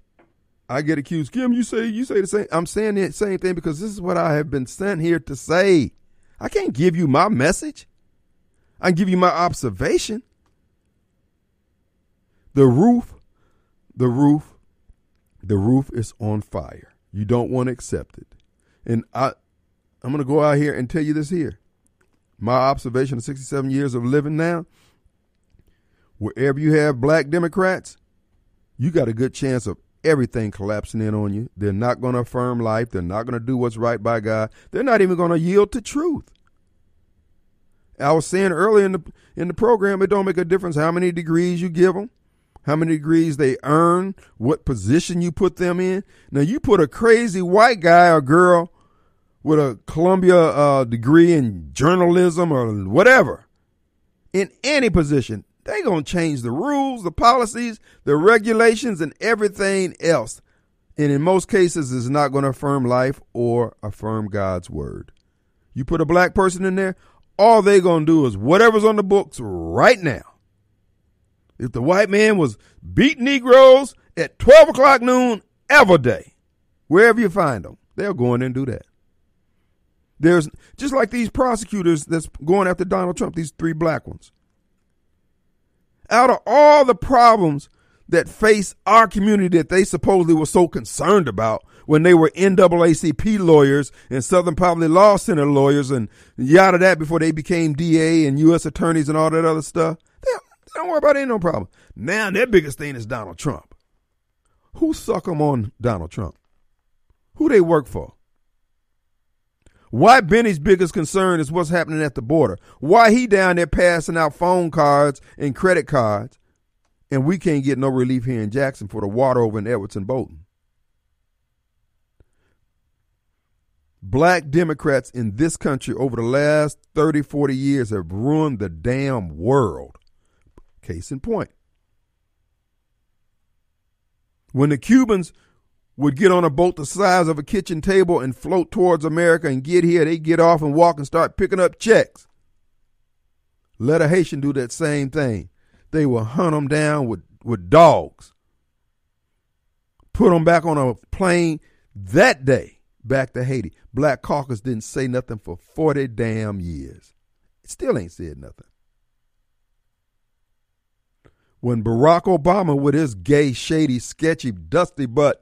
I get accused. Kim, you say you say the same. I'm saying the same thing because this is what I have been sent here to say. I can't give you my message. I can give you my observation. The roof, the roof, the roof is on fire. You don't want to accept it. And I, I'm going to go out here and tell you this here. My observation of sixty-seven years of living now, wherever you have black Democrats, you got a good chance of everything collapsing in on you. They're not going to affirm life. They're not going to do what's right by God. They're not even going to yield to truth. I was saying earlier in the in the program, it don't make a difference how many degrees you give them, how many degrees they earn, what position you put them in. Now, you put a crazy white guy or girl with a Columbia uh, degree in journalism or whatever in any position, they're going to change the rules, the policies, the regulations, and everything else. And in most cases, it's not going to affirm life or affirm God's word. You put a black person in there, all they're going to do is whatever's on the books right now. If the white man was beating Negroes at twelve o'clock noon every day, wherever you find them, they'll go in and do that. There's just like these prosecutors that's going after Donald Trump, these three black ones. Out of all the problems that face our community that they supposedly were so concerned about when they were N double A C P lawyers and Southern Poverty Law Center lawyers and yada that before they became D A and U S attorneys and all that other stuff. They, they don't worry about it, ain't no problem. Now their biggest thing is Donald Trump. Who suck them on Donald Trump? Who they work for? Why Benny's biggest concern is what's happening at the border. Why he down there passing out phone cards and credit cards, and we can't get no relief here in Jackson for the water over in Edwards Bolton. Black Democrats in this country over the last thirty, forty years have ruined the damn world. Case in point. When the Cubans would get on a boat the size of a kitchen table and float towards America and get here, they get off and walk and start picking up checks. Let a Haitian do that same thing. They will hunt them down with, with dogs. Put them back on a plane that day back to Haiti. Black Caucus didn't say nothing for forty damn years. It still ain't said nothing. When Barack Obama with his gay, shady, sketchy, dusty butt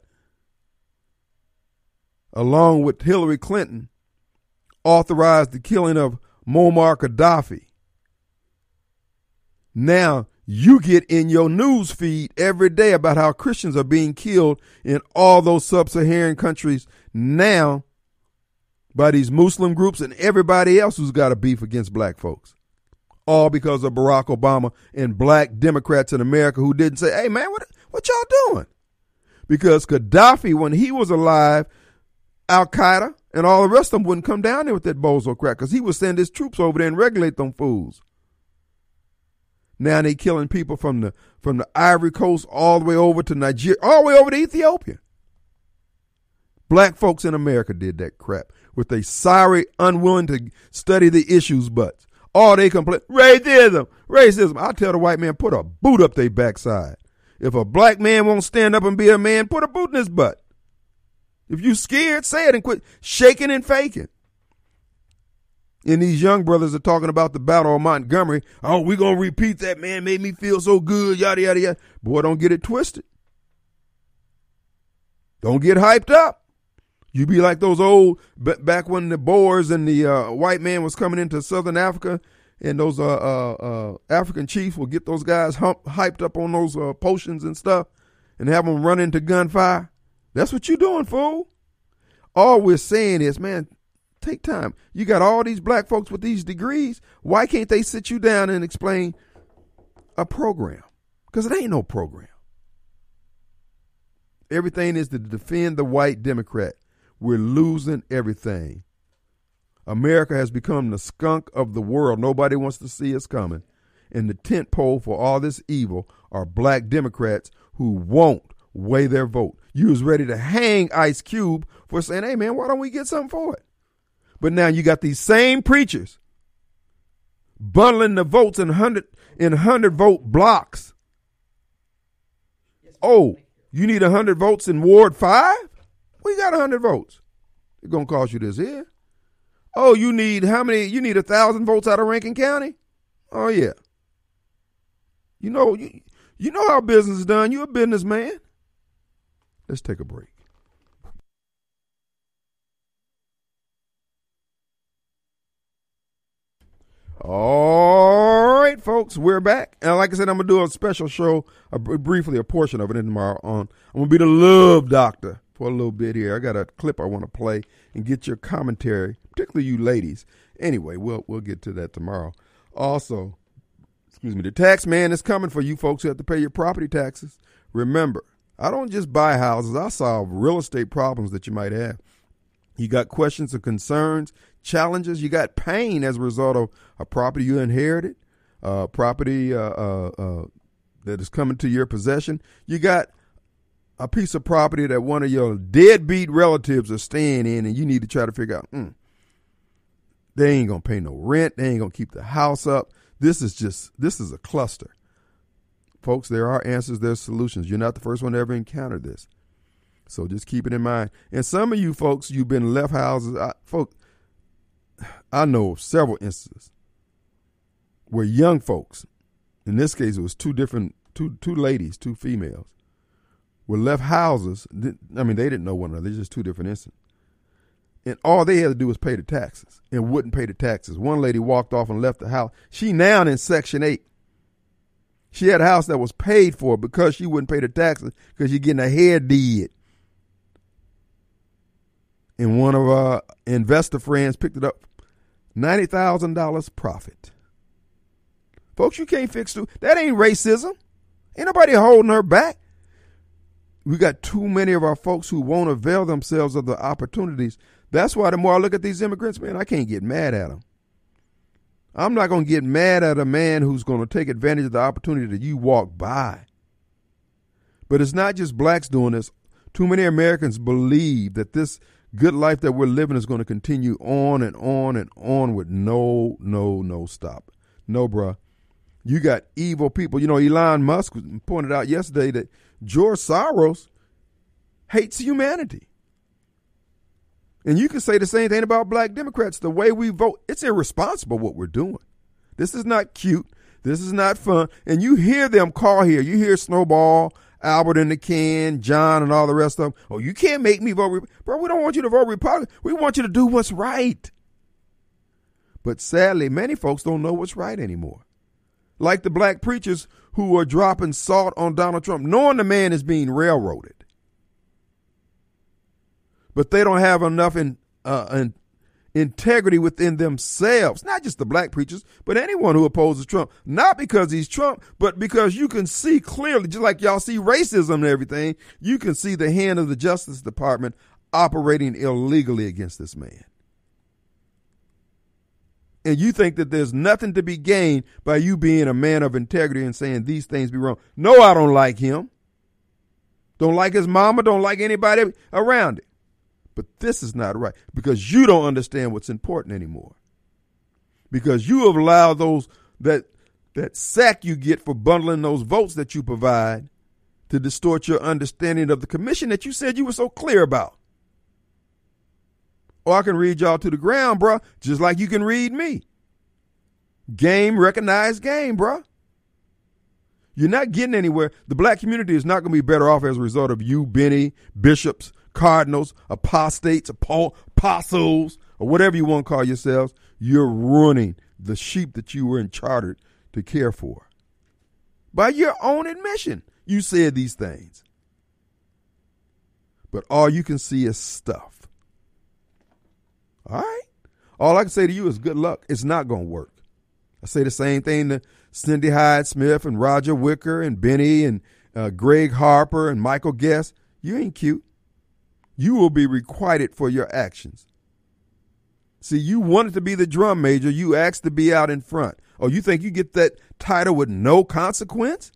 along with Hillary Clinton, authorized the killing of Muammar Gaddafi. Now you get in your news feed every day about how Christians are being killed in all those sub-Saharan countries now by these Muslim groups and everybody else who's got a beef against black folks. All because of Barack Obama and black Democrats in America who didn't say, hey, man, what, what y'all doing? Because Gaddafi, when he was alive, Al-Qaeda and all the rest of them wouldn't come down there with that bozo crap because he would send his troops over there and regulate them fools. Now they killing people from the from the Ivory Coast all the way over to Nigeria, all the way over to Ethiopia. Black folks in America did that crap with a sorry, unwilling to study the issues butts. All they complain, racism, racism. I tell the white man, put a boot up their backside. If a black man won't stand up and be a man, put a boot in his butt. If you scared, say it and quit shaking and faking. And these young brothers are talking about the Battle of Montgomery. Oh, we going to repeat that, man. Made me feel so good, yada, yada, yada. Boy, don't get it twisted. Don't get hyped up. You be like those old, back when the Boers and the uh, white man was coming into Southern Africa, and those uh, uh, uh, African chiefs would get those guys hump, hyped up on those uh, potions and stuff and have them run into gunfire. That's what you're doing, fool. All we're saying is, man, take time. You got all these black folks with these degrees. Why can't they sit you down and explain a program? Because it ain't no program. Everything is to defend the white Democrat. We're losing everything. America has become the skunk of the world. Nobody wants to see us coming. And the tent pole for all this evil are black Democrats who won't weigh their vote. You was ready to hang Ice Cube for saying, hey, man, why don't we get something for it? But now you got these same preachers bundling the votes in hundred in hundred vote blocks. Oh, you need a hundred votes in Ward Five? We got a hundred votes. It's gonna cost you this here. Oh, you need how many? You need a thousand votes out of Rankin County? Oh yeah. You know you, you know how business is done. You're a businessman. Let's take a break. All right, folks, we're back. And like I said, I'm going to do a special show, uh, briefly, a portion of it tomorrow on. I'm going to be the love doctor for a little bit here. I got a clip I want to play and get your commentary, particularly you ladies. Anyway, we'll we'll get to that tomorrow. Also, excuse me, the tax man is coming for you folks who have to pay your property taxes. Remember, I don't just buy houses. I solve real estate problems that you might have. You got questions or concerns, challenges. You got pain as a result of a property you inherited, uh, property uh, uh, uh, that is coming to your possession. You got a piece of property that one of your deadbeat relatives are staying in, and you need to try to figure out, mm, they ain't going to pay no rent. They ain't going to keep the house up. This is just, this is a cluster. Folks, there are answers, there's solutions. You're not the first one to ever encounter this. So just keep it in mind. And some of you folks, you've been left houses. I, folks, I know of several instances where young folks, in this case, it was two different two two ladies, two females, were left houses. I mean, they didn't know one another. They're just two different incidents. And all they had to do was pay the taxes and wouldn't pay the taxes. One lady walked off and left the house. She now in Section eight. She had a house that was paid for because she wouldn't pay the taxes because you're getting a hair deed. And one of our investor friends picked it up, ninety thousand dollars profit. Folks, you can't fix it. That ain't racism. Ain't nobody holding her back. We got too many of our folks who won't avail themselves of the opportunities. That's why the more I look at these immigrants, man, I can't get mad at them. I'm not going to get mad at a man who's going to take advantage of the opportunity that you walk by. But it's not just blacks doing this. Too many Americans believe that this good life that we're living is going to continue on and on and on with no, no, no stop. No, bruh. You got evil people. You know, Elon Musk pointed out yesterday that George Soros hates humanity. And you can say the same thing about black Democrats. The way we vote, it's irresponsible what we're doing. This is not cute. This is not fun. And you hear them call here. You hear Snowball, Albert in the can, John, and all the rest of them. Oh, you can't make me vote. Re-. Bro, we don't want you to vote Republican. We want you to do what's right. But sadly, many folks don't know what's right anymore. Like the black preachers who are dropping salt on Donald Trump, knowing the man is being railroaded. But they don't have enough in, uh, in integrity within themselves. Not just the black preachers, but anyone who opposes Trump. Not because he's Trump, but because you can see clearly, just like y'all see racism and everything, you can see the hand of the Justice Department operating illegally against this man. And you think that there's nothing to be gained by you being a man of integrity and saying these things be wrong. No, I don't like him. Don't like his mama. Don't like anybody around it. But this is not right because you don't understand what's important anymore. Because you have allowed those that that sack you get for bundling those votes that you provide to distort your understanding of the commission that you said you were so clear about. Or I can read y'all to the ground, bruh, just like you can read me. Game, recognized game, bruh. You're not getting anywhere. The black community is not going to be better off as a result of you, Benny, bishops, cardinals, apostates, apostles, or whatever you want to call yourselves. You're ruining the sheep that you were in chartered to care for. By your own admission, you said these things. But all you can see is stuff. All right? All I can say to you is good luck. It's not going to work. I say the same thing to Cindy Hyde-Smith and Roger Wicker and Benny and uh, Greg Harper and Michael Guest. You ain't cute. You will be requited for your actions. See, you wanted to be the drum major. You asked to be out in front. Oh, you think you get that title with no consequence?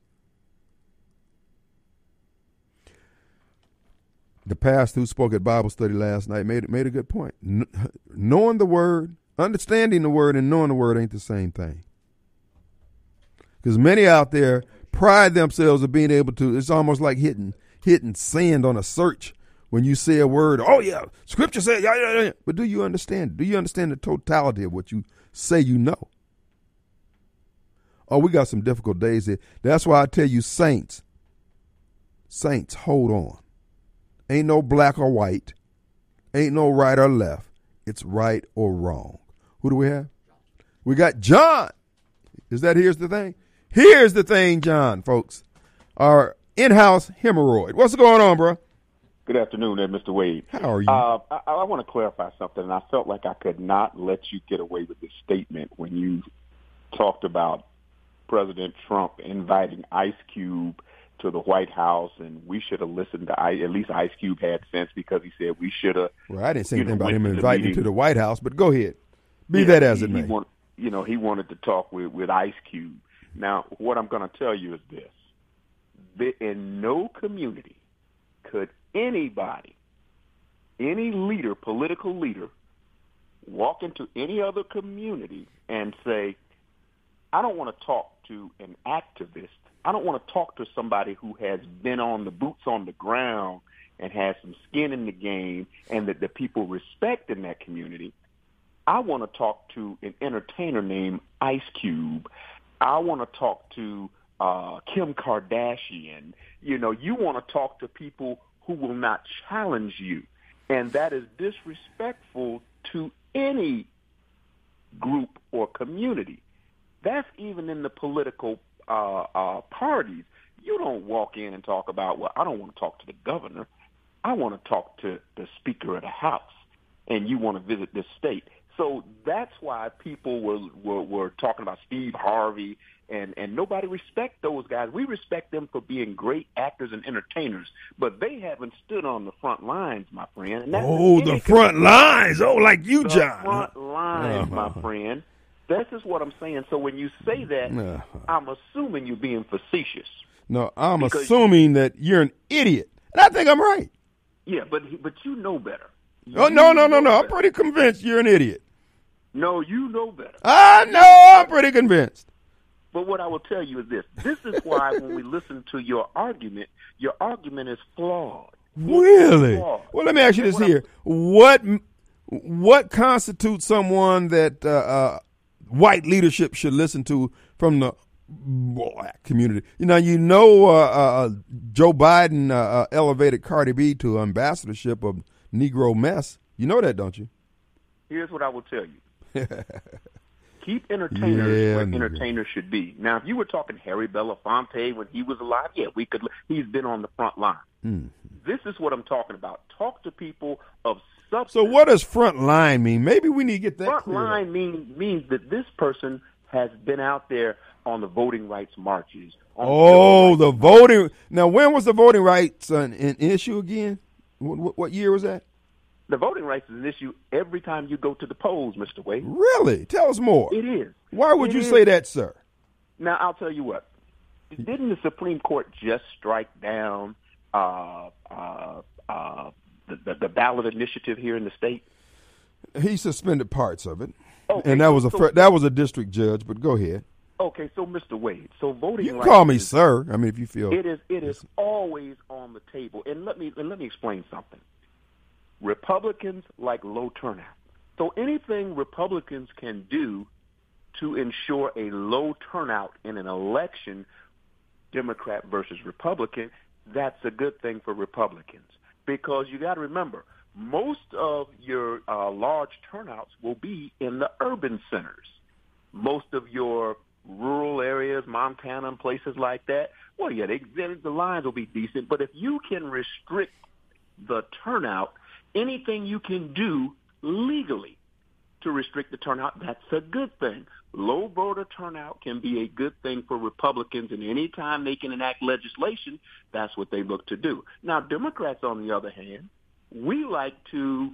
The pastor who spoke at Bible study last night made made a good point. N- knowing the word, understanding the word, and knowing the word ain't the same thing. Because many out there pride themselves of being able to, it's almost like hitting hitting sand on a search when you say a word. Oh, yeah, scripture said, yeah, yeah, yeah. But do you understand? Do you understand the totality of what you say you know? Oh, we got some difficult days here. That's why I tell you, saints, saints, hold on. Ain't no black or white. Ain't no right or left. It's right or wrong. Who do we have? We got John. Is that here's the thing? Here's the thing, John, folks. Our in-house hemorrhoid. What's going on, bro? Good afternoon there, Mister Wade. How are you? Uh, I, I want to clarify something, and I felt like I could not let you get away with this statement when you talked about President Trump inviting Ice Cube to the White House, and we should have listened to, I, at least Ice Cube had sense because he said we should have. Well, I didn't say anything know, about him inviting him to the White House, but go ahead. Be yeah, that as he, it may. He want, you know, he wanted to talk with, with Ice Cube. Now, what I'm going to tell you is this. In no community could anybody, any leader, political leader, walk into any other community and say, I don't want to talk to an activist. I don't want to talk to somebody who has been on the boots on the ground and has some skin in the game and that the people respect in that community. I want to talk to an entertainer named Ice Cube. I want to talk to uh, Kim Kardashian. You know, you want to talk to people who will not challenge you. And that is disrespectful to any group or community. That's even in the political uh, uh, parties. You don't walk in and talk about, well, I don't want to talk to the governor. I want to talk to the Speaker of the House, and you want to visit this state. So that's why people were, were, were talking about Steve Harvey, and, and nobody respect those guys. We respect them for being great actors and entertainers, but they haven't stood on the front lines, my friend. And that's oh, the front lines. Oh, like you, the John. front lines, uh-huh. my friend. This is what I'm saying. So when you say that, uh-huh. I'm assuming you're being facetious. No, I'm assuming that you're an idiot. And I think I'm right. Yeah, but but you know better. You oh, no, no, no, no. Better. I'm pretty convinced you're an idiot. No, you know better. I know. I'm pretty convinced. But what I will tell you is this. This is why when we listen to your argument, your argument is flawed. Really? Flawed. Well, let me ask you this here. What what constitutes someone that uh, uh, white leadership should listen to from the black community? You know, you know, uh, uh, Joe Biden uh, uh, elevated Cardi B to ambassadorship of Negro Mess. You know that, don't you? Here's what I will tell you. Keep entertainers yeah, where nigga. entertainers should be. Now, if you were talking Harry Belafonte when he was alive, yeah, we could. He's been on the front line. Mm. This is what I'm talking about. Talk to people of substance. So what does front line mean? Maybe we need to get that front clear. line mean, means that this person has been out there on the voting rights marches. Oh, the voting. Now, when was the voting rights an, an issue again? What, what year was that? The voting rights is an issue every time you go to the polls, Mister Wade. Really? Tell us more. It is. Why would it you is. say that, sir? Now, I'll tell you what. Didn't the Supreme Court just strike down uh, uh, uh, the, the, the ballot initiative here in the state? He suspended parts of it. Okay, and that was a so, that was a district judge, but go ahead. Okay, so Mister Wade, so voting you can rights call me is, sir. I mean, if you feel it is, it is always on the table. And let me and let me explain something. Republicans like low turnout. So anything Republicans can do to ensure a low turnout in an election, Democrat versus Republican, that's a good thing for Republicans. Because you got to remember, most of your uh, large turnouts will be in the urban centers. Most of your rural areas, Montana and places like that, well, yeah, they, the lines will be decent. But if you can restrict the turnout, anything you can do legally to restrict the turnout, that's a good thing. Low voter turnout can be a good thing for Republicans, and any time they can enact legislation, that's what they look to do. Now, Democrats, on the other hand, we like to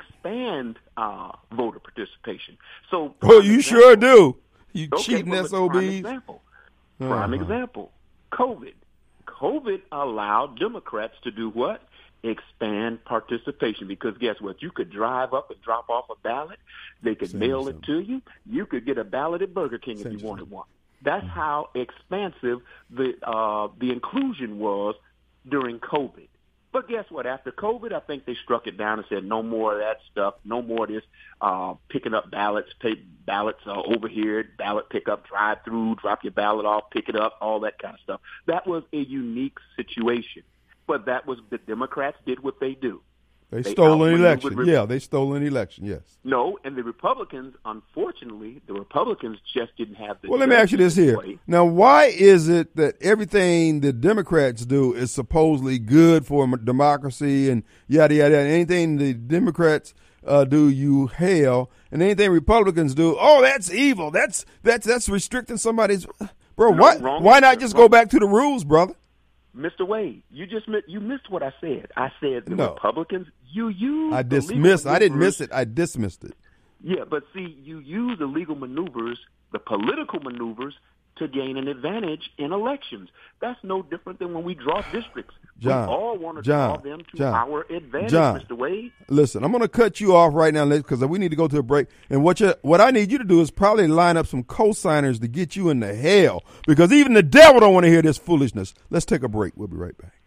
expand uh, voter participation. So, oh, you example, sure do. You okay, cheating well, S O Bs. Prime example. Prime uh-huh. example. COVID. COVID allowed Democrats to do what? Expand participation, because guess what? You could drive up and drop off a ballot. They could Same mail something. it to you. You could get a ballot at Burger King Same if you something. wanted one. That's mm-hmm. how expansive the uh, the inclusion was during COVID. But guess what? After COVID, I think they struck it down and said no more of that stuff, no more of this uh, picking up ballots, take ballots uh, over here, ballot pickup, drive through, drop your ballot off, pick it up, all that kind of stuff. That was a unique situation. But that was the Democrats did what they do. They, they stole an election. Re- yeah, they stole an election, yes. No, and the Republicans, unfortunately, the Republicans just didn't have the... Well, let me ask you this here. Way. Now, why is it that everything the Democrats do is supposedly good for democracy and yada, yada, yada? Anything the Democrats uh, do, you hail, and anything Republicans do, oh, that's evil. That's that's that's restricting somebody's... Bro, no, why, wrong, why not just wrong. go back to the rules, brother? Mister Wade, you just you missed what I said. I said the no. Republicans, you use I dismissed. I didn't miss it. I dismissed it. Yeah, but see, you use the legal maneuvers, the political maneuvers, to gain an advantage in elections. That's no different than when we draw districts. John, we all want to John, draw them to John, our advantage, John, Mister Wade. Listen, I'm going to cut you off right now because we need to go to a break. And what you, what I need you to do is probably line up some co-signers to get you into hell, because even the devil don't want to hear this foolishness. Let's take a break. We'll be right back.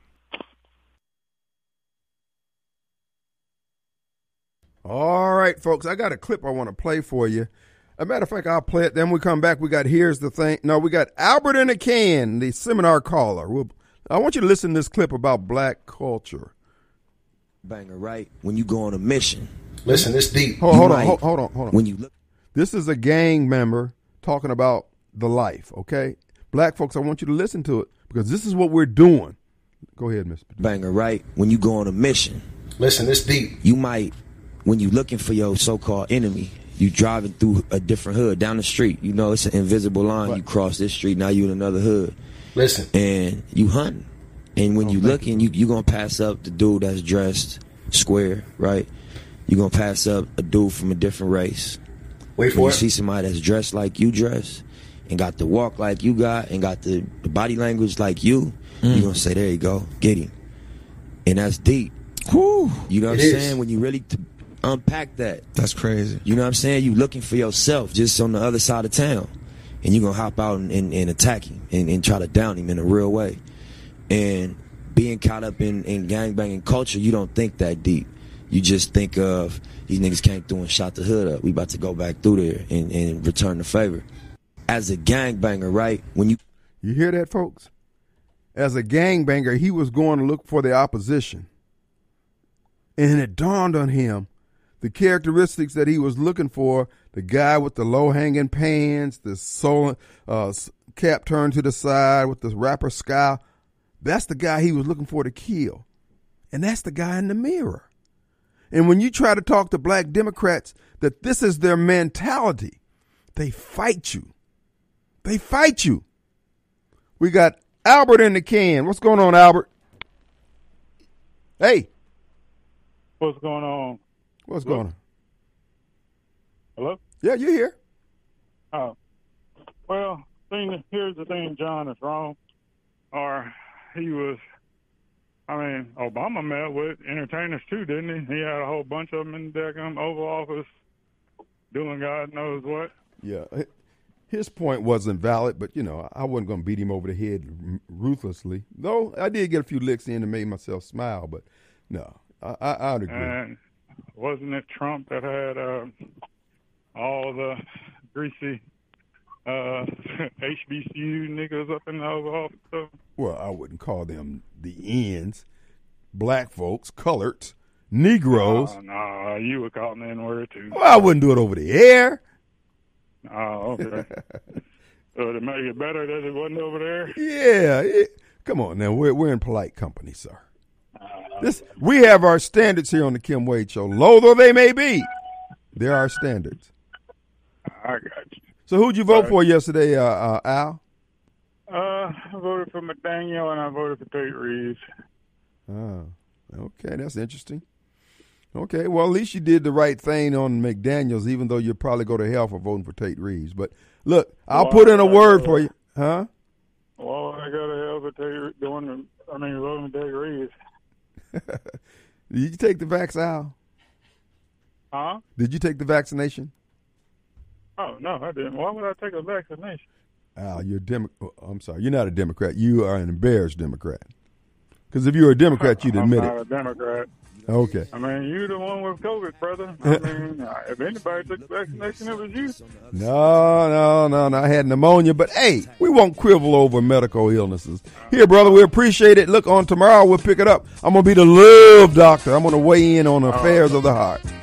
All right, folks, I got a clip I want to play for you. a matter of fact, I'll play it. Then we come back. We got Here's the Thing. No, we got Albert in a Can, the seminar caller. We'll, I want you to listen to this clip about black culture. Banger, right? When you go on a mission. Listen, it's deep. Hold, hold on, might, hold, hold on, hold on. When you look, this is a gang member talking about the life, okay? Black folks, I want you to listen to it because this is what we're doing. Go ahead, Mister Banger, right? When you go on a mission. Listen, it's deep. You might, when you're looking for your so-called enemy, you driving through a different hood, down the street. You know, it's an invisible line. What? You cross this street, now you in another hood. Listen. And you hunting. And when oh, you looking, you you going to pass up the dude that's dressed square, right? You're going to pass up a dude from a different race. Wait for when it. You see somebody that's dressed like you dress and got the walk like you got and got the, the body language like you, mm. you're going to say, there you go, get him. And that's deep. Whew. You know what It I'm is. saying? When you really t- unpack that. That's crazy. You know what I'm saying? You looking for yourself just on the other side of town. And you're going to hop out and, and, and attack him and, and try to down him in a real way. And being caught up in, in gangbanging culture, you don't think that deep. You just think of these niggas came through and shot the hood up. We about to go back through there and, and return the favor. As a gangbanger, right? When you You hear that, folks? As a gangbanger, he was going to look for the opposition. And it dawned on him the characteristics that he was looking for, the guy with the low-hanging pants, the soul, uh, cap turned to the side with the rapper scowl. That's the guy he was looking for to kill. And that's the guy in the mirror. And when you try to talk to black Democrats that this is their mentality, they fight you. They fight you. We got Albert in the can. What's going on, Albert? Hey. What's going on? What's Hello? going on? Hello? Yeah, you're here. Oh. Well, thing, here's the thing, John is wrong. Or he was, I mean, Obama met with entertainers too, didn't he? He had a whole bunch of them in the daggum Oval Office doing God knows what. Yeah. His point wasn't valid, but, you know, I wasn't going to beat him over the head ruthlessly. Though I did get a few licks in and made myself smile, but no, I, I, I'd agree. And wasn't it Trump that had uh, all the greasy uh, H B C U niggas up in the Oval Office? So? Well, I wouldn't call them the ends. Black folks, colored, Negroes. Oh, no, you would call them the N-word too. Well, I wouldn't do it over the air. Oh, okay. So to make it better that it wasn't over there? Yeah. It, come on now. We're, we're in polite company, sir. This, we have our standards here on the Kim Wade Show. Low though they may be, they're our standards. I got you. So who'd you vote Right. for yesterday, uh, uh, Al? Uh, I voted for McDaniel and I voted for Tate Reeves. Oh, okay. That's interesting. Okay, well, at least you did the right thing on McDaniels, even though you'll probably go to hell for voting for Tate Reeves. But look, I'll Well, put in a I- word for you. Huh? Well, I got to hell for Tate going to, I mean, voting for Tate Reeves. Did you take the vax, Al? Huh? Did you take the vaccination? Oh, no, I didn't. Why would I take a vaccination? Al, you're a Demo- oh, I'm sorry, you're not a Democrat. You are an embarrassed Democrat. Because if you were a Democrat, you'd admit I'm it. not a Democrat. Okay. I mean, you the one with COVID, brother. I mean, if anybody took the vaccination, it was you. No, no, no, no. I had pneumonia, but hey, we won't quibble over medical illnesses. Here, brother, we appreciate it. Look, on tomorrow we'll pick it up. I'm going to be the love doctor. I'm going to weigh in on affairs of the heart.